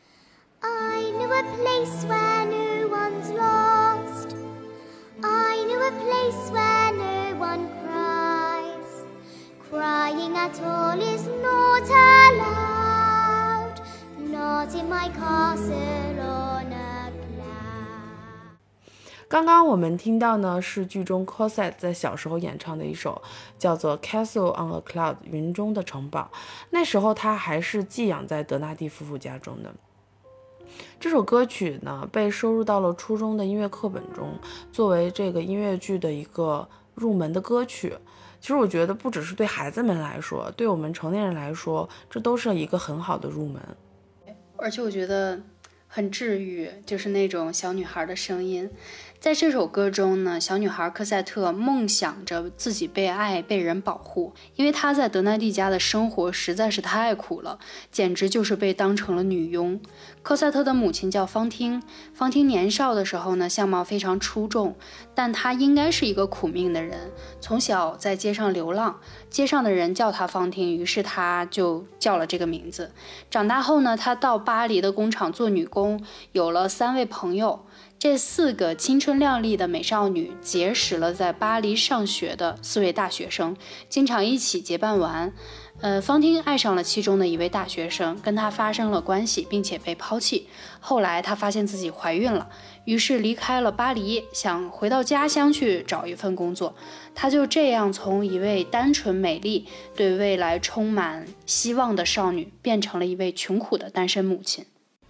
I know a place where no one's lost. I know a place where no one cries. Crying at all is not allowed. Not in my castle on a cloud. 刚刚我们听到呢是剧中 Cosette 在小时候演唱的一首叫做 Castle on a Cloud 云中的城堡，那时候她还是寄养在德纳第夫妇家中的。这首歌曲呢被收入到了初中的音乐课本中，作为这个音乐剧的一个入门的歌曲。其实我觉得不只是对孩子们来说，对我们成年人来说，这都是一个很好的入门。 而且我觉得很治愈，就是那种小女孩的声音。在这首歌中呢，小女孩科赛特梦想着自己被爱，被人保护，因为她在德奈蒂家的生活实在是太苦了，简直就是被当成了女佣。科赛特的母亲叫方汀，方汀年少的时候呢，相貌非常出众，但她应该是一个苦命的人，从小在街上流浪，街上的人叫她方汀，于是她就叫了这个名字。长大后呢，她到巴黎的工厂做女工，有了三位朋友。这四个青春靓丽的美少女结识了在巴黎上学的四位大学生，经常一起结伴玩。呃，方汀爱上了其中的一位大学生，跟他发生了关系，并且被抛弃。后来她发现自己怀孕了，于是离开了巴黎，想回到家乡去找一份工作。她就这样从一位单纯美丽、对未来充满希望的少女，变成了一位穷苦的单身母亲。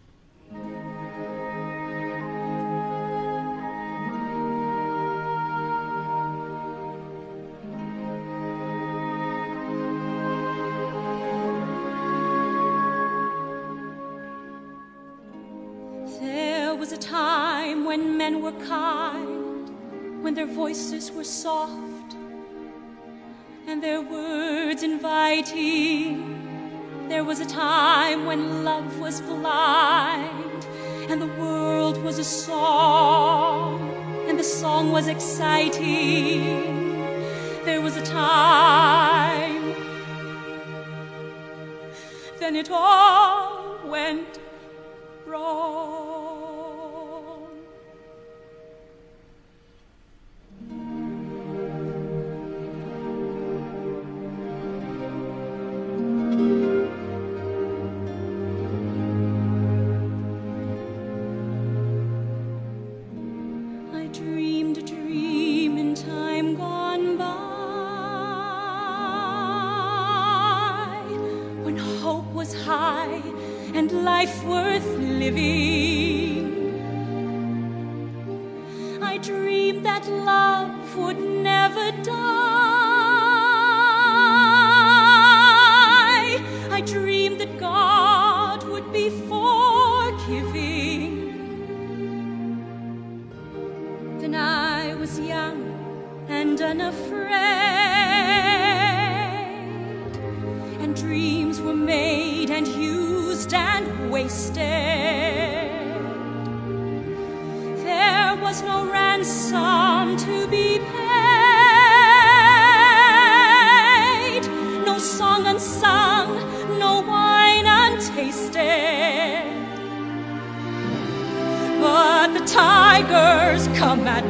There was a time when men were kind, when their voices were soft, and their words inviting. There was a time when love was blind, and the world was a song, and the song was exciting. There was a time, then it all went wrong. I dreamed a dream in time gone by. life worth living. I dreamed that love would never die. I dreamed that God would be forgiving. Then I was young and unafraid, and dreams were made and used and wasted. There was no ransom to be paid, no song unsung, no wine untasted. But the tigers come at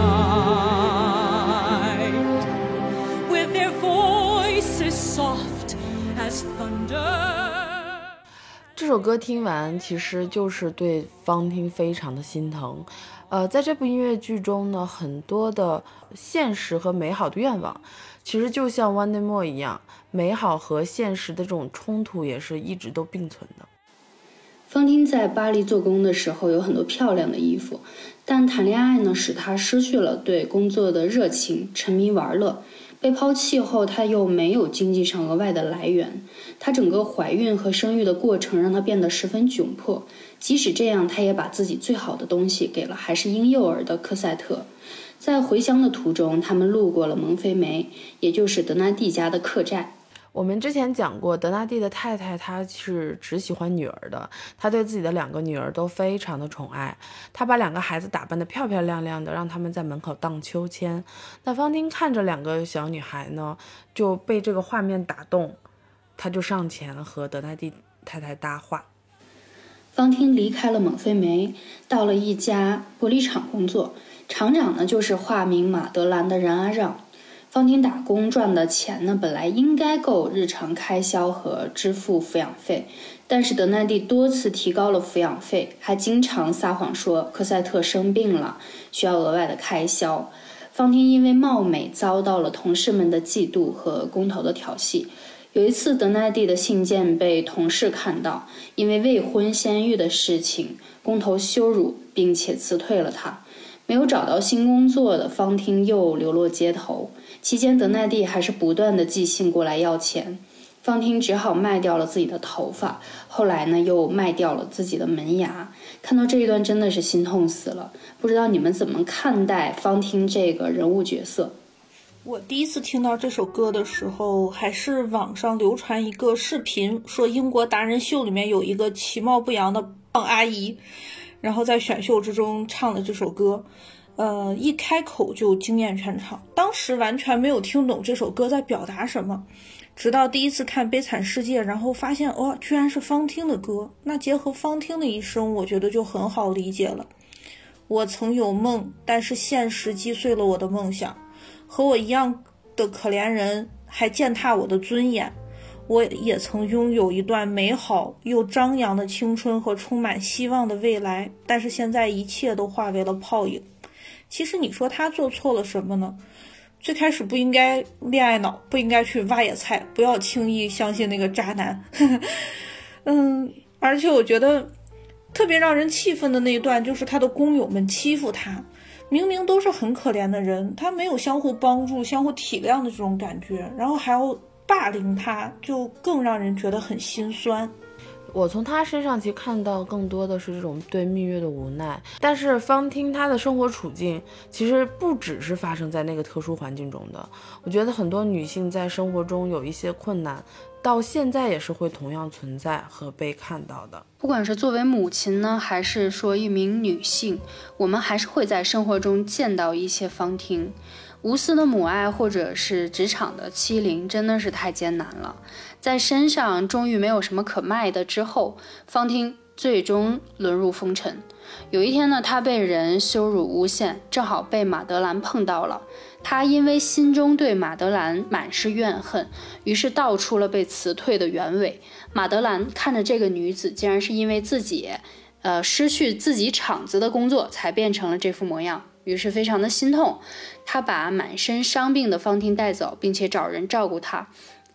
night, with their voices soft as thunder. 这首歌听完其实就是对方汀非常的心疼。呃，在这部音乐剧中呢，很多的现实和美好的愿望其实就像 One Day More 一样，美好和现实的这种冲突也是一直都并存的。 方汀在巴黎做工的时候有很多漂亮的衣服，但谈恋爱呢使他失去了对工作的热情，沉迷玩乐。被抛弃后，他又没有经济上额外的来源，他整个怀孕和生育的过程让他变得十分窘迫。即使这样，他也把自己最好的东西给了还是婴幼儿的科赛特。在回乡的途中，他们路过了蒙菲梅，也就是德纳蒂家的客栈。 我们之前讲过，德纳蒂的太太她是只喜欢女儿的，她对自己的两个女儿都非常的宠爱，她把两个孩子打扮得漂漂亮亮的，让他们在门口荡秋千。那方汀看着两个小女孩呢，就被这个画面打动，他就上前和德纳蒂太太搭话。 方汀离开了蒙菲梅，到了一家玻璃厂工作，厂长呢就是化名马德兰的冉阿让。方汀打工赚的钱呢，本来应该够日常开销和支付抚养费，但是德奈蒂多次提高了抚养费，还经常撒谎说科赛特生病了，需要额外的开销。方汀因为貌美遭到了同事们的嫉妒和工头的调戏。有一次，德奈蒂的信件被同事看到，因为未婚先育的事情，工头羞辱并且辞退了他。没有找到新工作的方汀又流落街头，期间德奈蒂还是不断的寄信过来要钱，方汀只好卖掉了自己的头发，后来呢又卖掉了自己的门牙。看到这一段真的是心痛死了，不知道你们怎么看待方汀这个人物角色？ 我第一次听到这首歌的时候，还是网上流传一个视频，说英国达人秀里面有一个其貌不扬的胖阿姨，然后在选秀之中唱了这首歌，呃，一开口就惊艳全场。当时完全没有听懂这首歌在表达什么，直到第一次看《悲惨世界》，然后发现哦，居然是方汀的歌。那结合方汀的一生，我觉得就很好理解了。我曾有梦，但是现实击碎了我的梦想。和我一样的可怜人还践踏我的尊严。我也曾拥有一段美好又张扬的青春和充满希望的未来，但是现在一切都化为了泡影。其实你说他做错了什么呢？最开始不应该恋爱脑，不应该去挖野菜，不要轻易相信那个渣男。嗯，而且我觉得特别让人气愤的那一段，就是他的工友们欺负他，明明都是很可怜的人，他没有相互帮助、相互体谅的这种感觉，然后还要霸凌他，就更让人觉得很心酸。 我从他身上其实看到更多的是这种对蜜月的无奈，但是方汀他的生活处境其实不只是发生在那个特殊环境中的。我觉得很多女性在生活中有一些困难，到现在也是会同样存在和被看到的。 不管是作为母亲呢，还是说一名女性，我们还是会在生活中见到一些方汀。无私的母爱或者是职场的欺凌真的是太艰难了。在身上终于没有什么可卖的之后，方汀最终沦入风尘。有一天呢，他被人羞辱诬陷，正好被马德兰碰到了。他因为心中对马德兰满是怨恨，于是道出了被辞退的原委。马德兰看着这个女子竟然是因为自己呃，失去自己厂子的工作才变成了这副模样，于是非常的心痛。他把满身伤病的方汀带走，并且找人照顾他。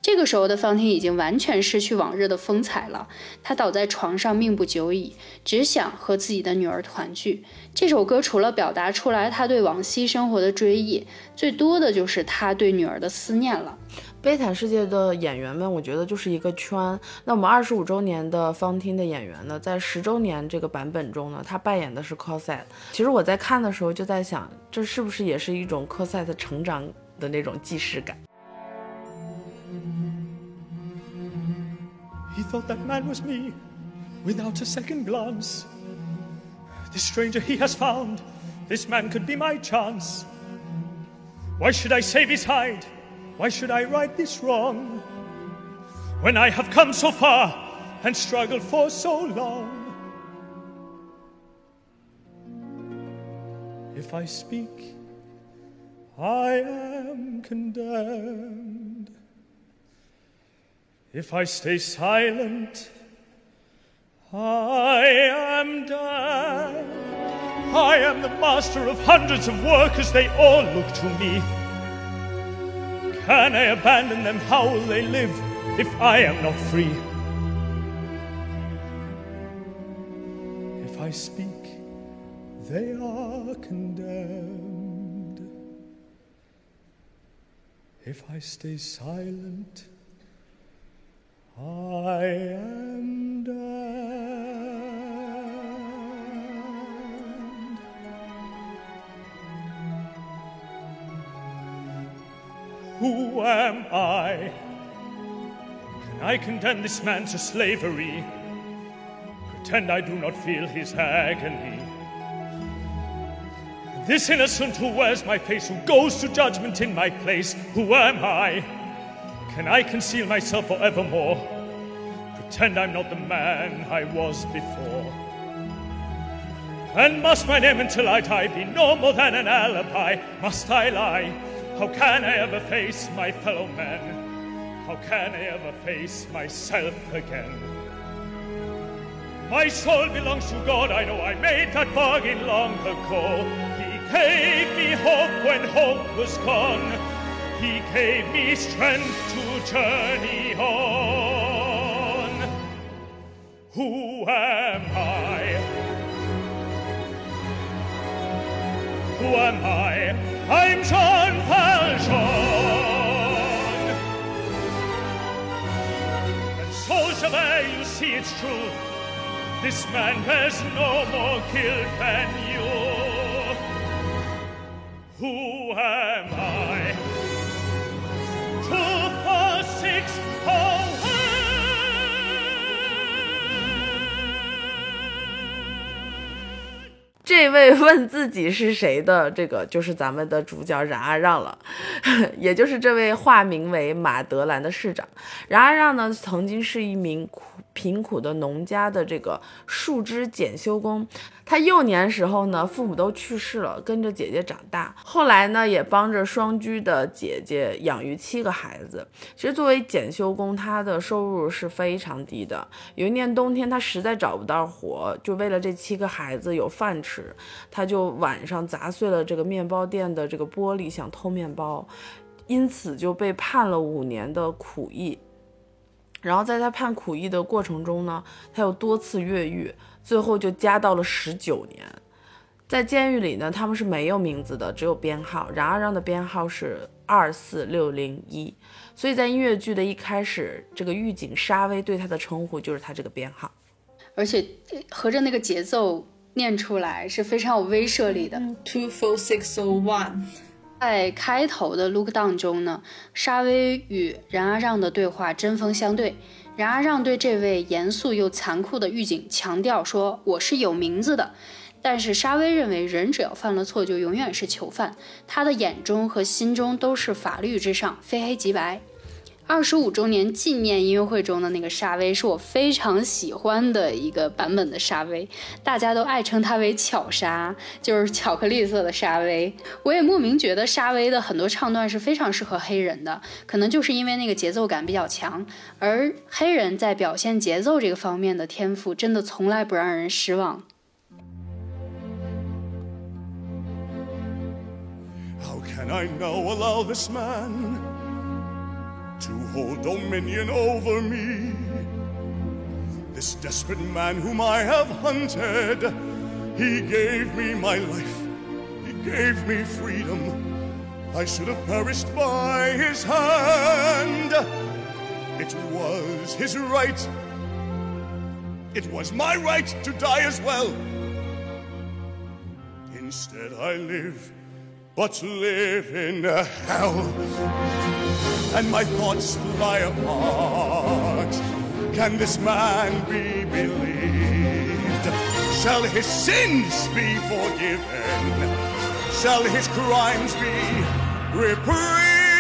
这个时候的方婷已经完全失去往日的风采了，她倒在床上命不久矣，只想和自己的女儿团聚。这首歌除了表达出来她对往昔生活的追忆，最多的就是她对女儿的思念了。 悲惨世界的演员们，我觉得就是一个圈。那我们二十五周年的方汀的演员呢，在十周年这个版本中呢，他扮演的是 Cosette。其实我在看的时候就在想，这是不是也是一种 Cosette 成长的那种既视感。 He thought that man was me, without a second glance. This stranger he has found, this man could be my chance. Why should I save his hide? Why should I right this wrong? When I have come so far and struggled for so long. If I speak, I am condemned.If I stay silent, I am damned. I am the master of hundreds of workers, they all look to me. Can I abandon them? How will they live if I am not free? If I speak, they are condemned. If I stay silent,I am damned. Who am I? Can I condemn this man to slavery? Pretend I do not feel his agony. This innocent who wears my face, who goes to judgment in my place, who am I?Can I conceal myself forevermore? Pretend I'm not the man I was before? And must my name until I die be no more than an alibi? Must I lie? How can I ever face my fellow men? How can I ever face myself again? My soul belongs to God, I know I made that bargain long ago. He gave me hope when hope was gone.He gave me strength to journey on. Who am I? Who am I? I'm Jean Valjean. And so, Javert, you see it's true. This man has no more guilt than you. Who am I?Two, four, six, oh, one. 这位问自己是谁的，这个就是咱们的主角冉阿让了，也就是这位化名为马德兰的市长。冉阿让呢，曾经是一名苦贫苦的农家的这个树枝检修工。他幼年时候呢，父母都去世了，跟着姐姐长大。后来呢，也帮着双居的姐姐养育七个孩子。其实作为检修工，他的收入是非常低的。有一年冬天，他实在找不到活，就为了这七个孩子有饭吃，他就晚上砸碎了这个面包店的这个玻璃，想偷面包，因此就被判了五年的苦役。然后在他判苦役的过程中呢，他有多次越狱，最后就加到了十九年。在监狱里呢，他们是没有名字的，只有编号。冉阿让的编号是二四六零一，所以在音乐剧的一开始，这个狱警沙威对他的称呼就是他这个编号， 而且合着那个节奏念出来是非常有威慑力的。 Two four six oh one。 在开头的 Look Down 中呢，沙威与冉阿让的对话针锋相对。冉阿让对这位严肃又残酷的狱警强调说：“我是有名字的。”但是沙威认为人只要犯了错就永远是囚犯，他的眼中和心中都是法律之上，非黑即白。二十五周年纪念音乐会中的那个沙威是我非常喜欢的一个版本的沙威，大家都爱称他为巧沙，就是巧克力色的沙威。我也莫名觉得沙威的很多唱段是非常适合黑人的，可能就是因为那个节奏感比较强，而黑人在表现节奏这个方面的天赋真的从来不让人失望。 How can I now allow this man to hold dominion over me. This desperate man whom I have hunted, he gave me my life, he gave me freedom. I should have perished by his hand. It was his right. It was my right to die as well. Instead I live, but live in hell. And my thoughts fly apart. Can this man be believed? Shall his sins be forgiven? Shall his crimes be reprieved?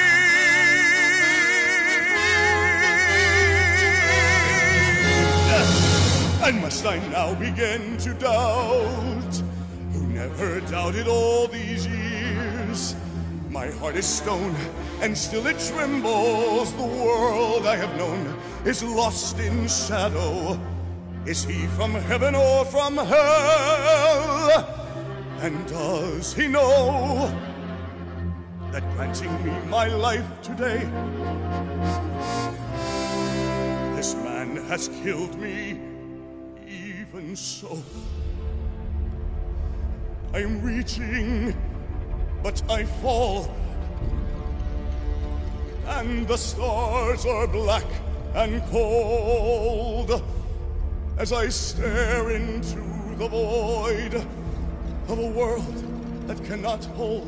And must I now begin to doubt, who never doubted all these years? My heart is stone, and still it trembles. The world I have known is lost in shadow. Is he from heaven or from hell? And does he know that granting me my life today, this man has killed me? Even so, I'm reaching, but I fall, and the stars are black and cold as I stare into the void of a world that cannot hold.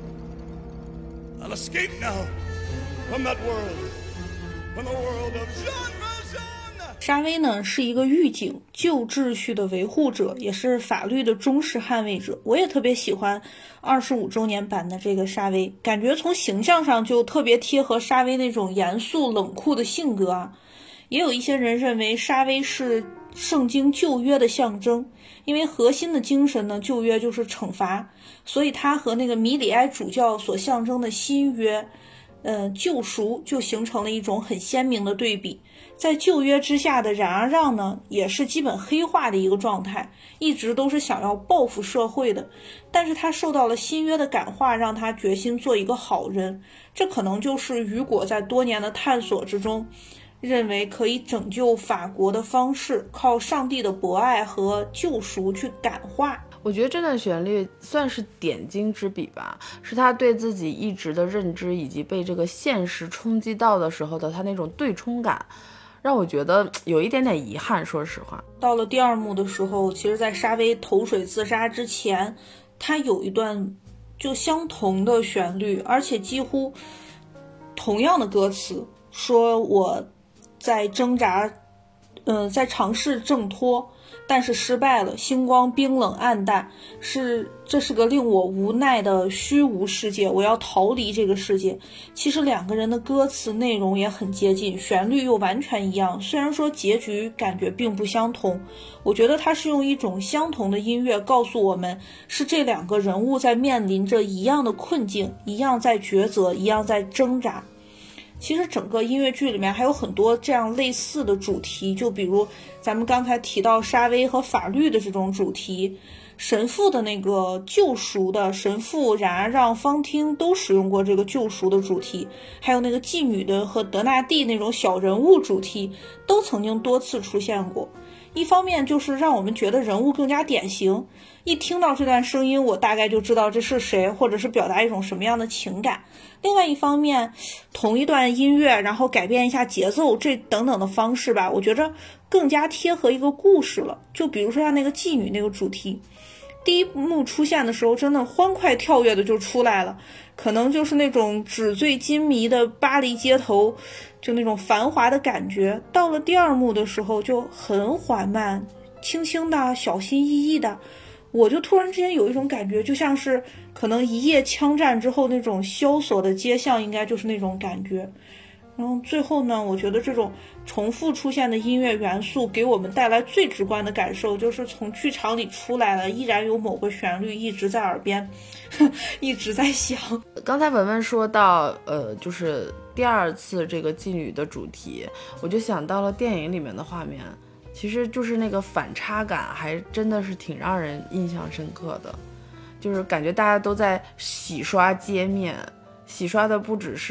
I'll escape now from that world, from the world of Jean Valjean. 沙威呢是一个狱警，旧秩序的维护者，也是法律的忠实捍卫者。我也特别喜欢二十五周年版的这个沙威，感觉从形象上就特别贴合沙威那种严肃冷酷的性格啊。也有一些人认为沙威是圣经旧约的象征，因为核心的精神呢，旧约就是惩罚，所以它和那个米里埃主教所象征的新约呃，救赎就形成了一种很鲜明的对比。在旧约之下的冉阿让呢，也是基本黑化的一个状态，一直都是想要报复社会的，但是他受到了新约的感化，让他决心做一个好人。这可能就是雨果在多年的探索之中认为可以拯救法国的方式，靠上帝的博爱和救赎去感化。 我觉得这段旋律算是点睛之笔吧，是他对自己一直的认知以及被这个现实冲击到的时候的他那种对冲感，让我觉得有一点点遗憾。说实话， 到了第二幕的时候，其实在沙威投水自杀之前，他有一段就相同的旋律，而且几乎同样的歌词，说我在挣扎呃，在尝试挣脱，但是失败了，星光冰冷暗淡，是这是个令我无奈的虚无世界，我要逃离这个世界。其实两个人的歌词内容也很接近，旋律又完全一样，虽然说结局感觉并不相同，我觉得它是用一种相同的音乐告诉我们，是这两个人物在面临着一样的困境，一样在抉择，一样在挣扎。其实整个音乐剧里面还有很多这样类似的主题，就比如咱们刚才提到沙威和法律的这种主题，神父的那个救赎的神父冉阿让、方汀都使用过这个救赎的主题，还有那个妓女的和德纳第那种小人物主题都曾经多次出现过。一方面就是让我们觉得人物更加典型，一听到这段声音我大概就知道这是谁，或者是表达一种什么样的情感。另外一方面，同一段音乐然后改变一下节奏，这等等的方式吧，我觉着更加贴合一个故事了。就比如说像那个妓女那个主题，第一幕出现的时候真的欢快跳跃的就出来了，可能就是那种纸醉金迷的巴黎街头，就那种繁华的感觉。到了第二幕的时候就很缓慢，轻轻的，小心翼翼的，我就突然之间有一种感觉，就像是可能一夜枪战之后那种萧索的街巷，应该就是那种感觉。然后最后呢，我觉得这种重复出现的音乐元素给我们带来最直观的感受，就是从剧场里出来了，依然有某个旋律一直在耳边一直在响。 刚才文文说到呃，就是第二次这个妓女的主题，我就想到了电影里面的画面，其实就是那个反差感还真的是挺让人印象深刻的，就是感觉大家都在洗刷街面，洗刷的不只是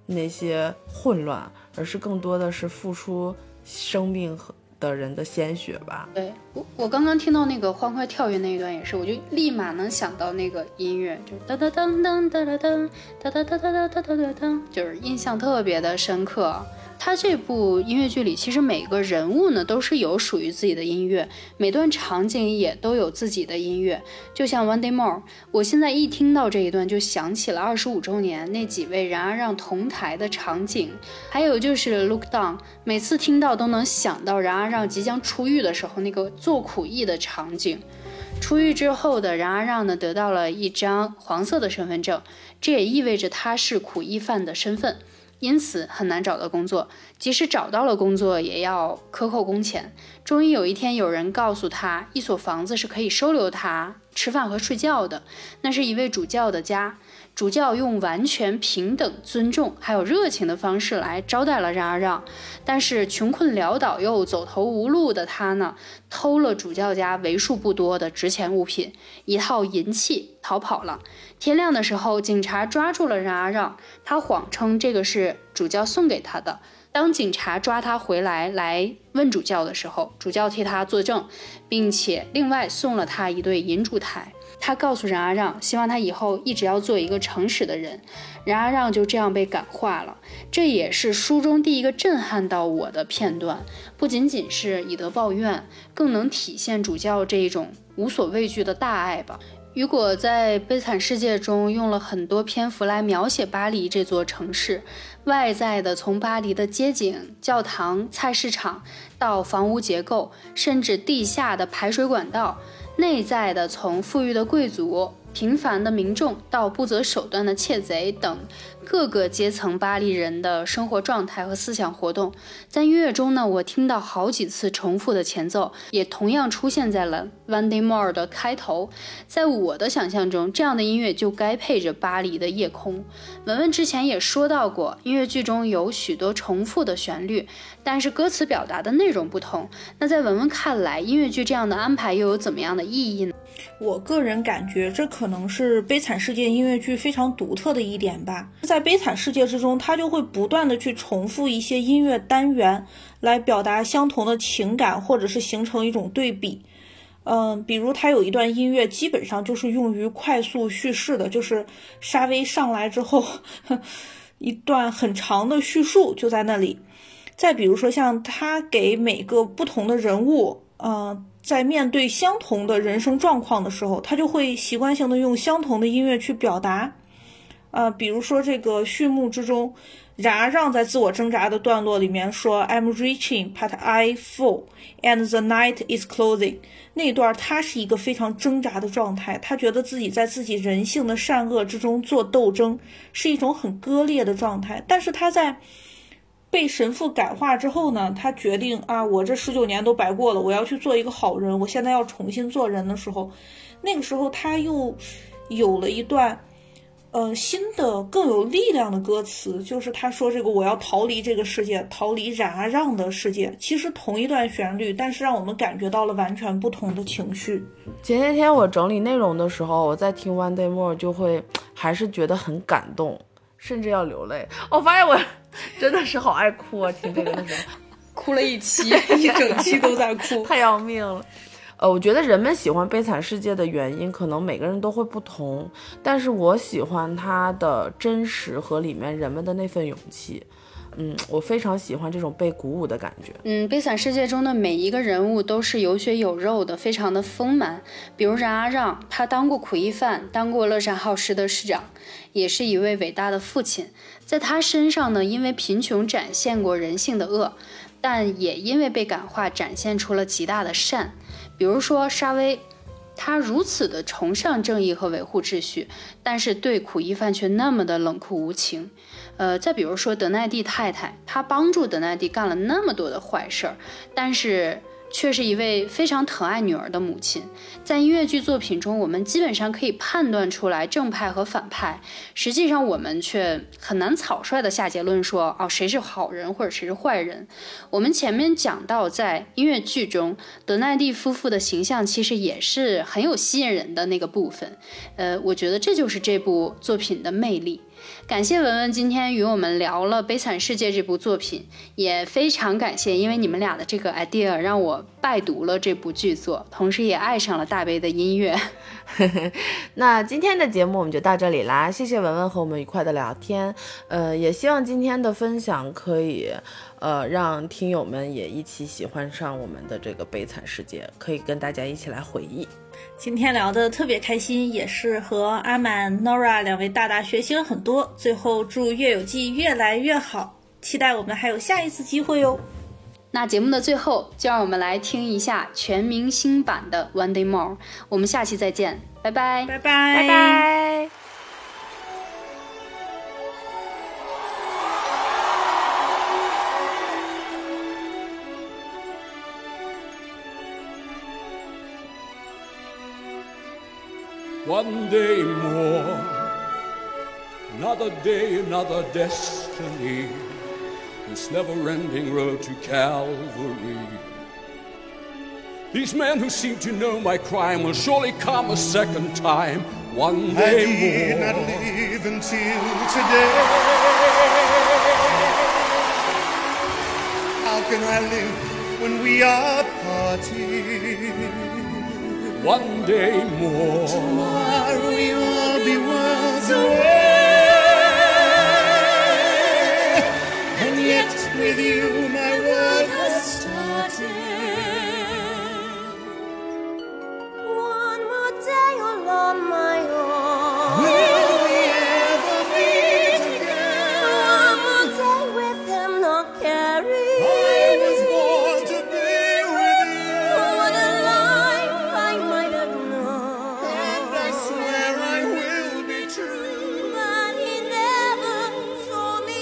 那些混乱，而是更多的是付出生命的人的鲜血吧。 对，我我刚刚听到那个欢快跳跃那一段也是，我就立马能想到那个音乐，就哒哒当当哒哒当哒哒哒哒哒哒哒哒当，就是印象特别的深刻。他这部音乐剧里，其实每个人物呢都是有属于自己的音乐，每段场景也都有自己的音乐。就像 One Day More， 我现在一听到这一段就想起了二十五周年那几位冉阿让同台的场景，还有就是 Look Down， 每次听到都能想到冉阿让即将出狱的时候那个做苦役的场景。出狱之后的冉阿让呢，得到了一张黄色的身份证，这也意味着他是苦役犯的身份，因此很难找到工作，即使找到了工作也要克扣工钱。终于有一天有人告诉他，一所房子是可以收留他吃饭和睡觉的，那是一位主教的家。主教用完全平等、尊重还有热情的方式来招待了冉阿让，但是穷困潦倒又走投无路的他呢，偷了主教家为数不多的值钱物品，一套银器，逃跑了。天亮的时候，警察抓住了冉阿让，他谎称这个是主教送给他的。当警察抓他回来来问主教的时候，主教替他作证，并且另外送了他一对银烛台。他告诉冉阿让，希望他以后一直要做一个诚实的人。冉阿让就这样被感化了，这也是书中第一个震撼到我的片段。不仅仅是以德报怨，更能体现主教这一种无所畏惧的大爱吧。雨果在《悲惨世界》中用了很多篇幅来描写巴黎这座城市，外在的从巴黎的街景、教堂、菜市场到房屋结构，甚至地下的排水管道，内在的从富裕的贵族、平凡的民众到不择手段的窃贼等各个阶层巴黎人的生活状态和思想活动。在音乐中呢，我听到好几次重复的前奏，也同样出现在了 One Day More 的开头。在我的想象中，这样的音乐就该配着巴黎的夜空。文文之前也说到过，音乐剧中有许多重复的旋律，但是歌词表达的内容不同。那在文文看来，音乐剧这样的安排又有怎么样的意义呢？ 我个人感觉这可能是悲惨世界音乐剧非常独特的一点吧。在悲惨世界之中，它就会不断的去重复一些音乐单元来表达相同的情感，或者是形成一种对比。嗯，比如它有一段音乐基本上就是用于快速叙事的，就是沙威上来之后一段很长的叙述就在那里。再比如说像他给每个不同的人物呃在面对相同的人生状况的时候，他就会习惯性的用相同的音乐去表达。呃，比如说这个序幕之中，冉阿让在自我挣扎的段落里面说 I'm reaching but I fall and the night is closing， 那段他是一个非常挣扎的状态，他觉得自己在自己人性的善恶之中做斗争，是一种很割裂的状态。但是他在被神父感化之后呢，他决定啊，我这十九年都白过了，我要去做一个好人，我现在要重新做人的时候，那个时候他又有了一段呃新的更有力量的歌词，就是他说这个我要逃离这个世界，逃离冉阿让的世界。其实同一段旋律，但是让我们感觉到了完全不同的情绪。 前些天我整理内容的时候，我在听 One Day More 就会还是觉得很感动，甚至要流泪。我发现我真的是好爱哭啊，听这个的时候哭了一期一整期都在哭太要命了。呃，我觉得人们喜欢悲惨世界的原因可能每个人都会不同，但是我喜欢它的真实和里面人们的那份勇气。嗯，我非常喜欢这种被鼓舞的感觉。 嗯，悲惨世界中的每一个人物都是有血有肉的，非常的丰满。比如冉阿让，他当过苦役犯，当过乐善好施的市长，也是一位伟大的父亲。在他身上呢，因为贫穷展现过人性的恶，但也因为被感化展现出了极大的善。比如说沙威，他如此的崇尚正义和维护秩序，但是对苦役犯却那么的冷酷无情。呃，再比如说德奈蒂太太，她帮助德奈蒂干了那么多的坏事儿，但是却是一位非常疼爱女儿的母亲。在音乐剧作品中，我们基本上可以判断出来正派和反派，实际上我们却很难草率的下结论说哦，谁是好人或者谁是坏人。我们前面讲到，在音乐剧中德奈蒂夫妇的形象其实也是很有吸引人的那个部分。呃，我觉得这就是这部作品的魅力。 感谢文文今天与我们聊了《悲惨世界》这部作品，也非常感谢因为你们俩的这个 idea 让我拜读了这部剧作，同时也爱上了大悲的音乐。 那今天的节目我们就到这里啦，谢谢文文和我们愉快的聊天，呃，也希望今天的分享可以呃让听友们也一起喜欢上我们的这个悲惨世界，可以跟大家一起来回忆。 今天聊得特别开心，也是和阿满 Nora 两位大大学习了很多，最后祝月有记越来越好，期待我们还有下一次机会哟。 那节目的最后就让我们来听一下全明星版的 One Day More， 我们下期再见，拜拜拜拜拜拜。 One day more, another day, another destiny, this never-ending road to Calvary. These men who seem to know my crime will surely come a second time, one day I did more. not live until today. How can I live when we are parted? One day more. Tomorrow we'll be worlds away. And yet with you my world has started. One more day all on my own. Will we ever meet again? One more day with him not caring. I was born to be with you. What a life I might have known. And I swear I will be true. But he never saw me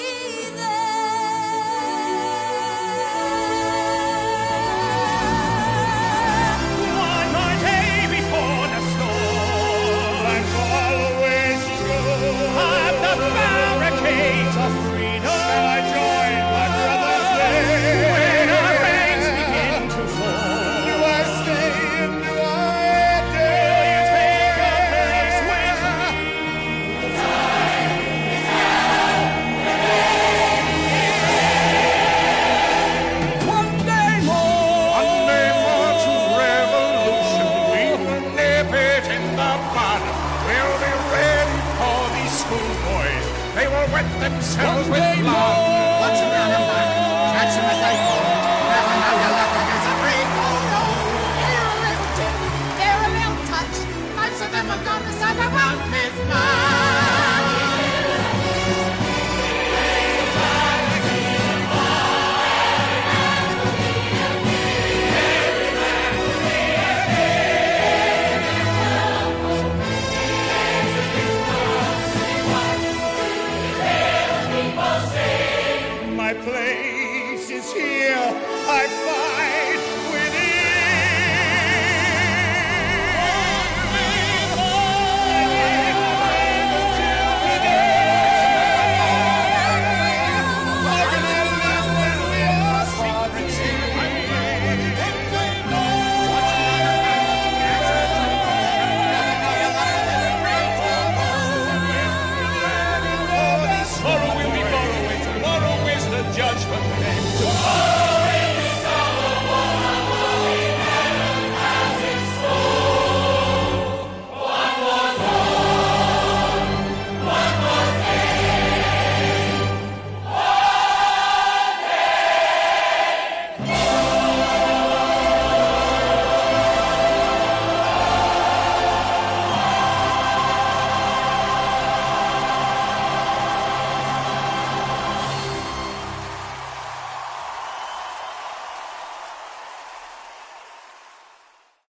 there. One more day before the storm, I'm always true. at the barricades of freedom, Shall I join my brothers there? when our ranks begin to Do fall. I stay and do I Will you take a place dare? with me? One day more. One day more to revolution. We will nip it in the bud. We'll be ready for these schoolboys. They will wet themselves with blood. Watch them down and back. Catch them as they fall. Never know your luck against a free fall. They're a little too, they're a little touch. Most of them have gone to suck up out this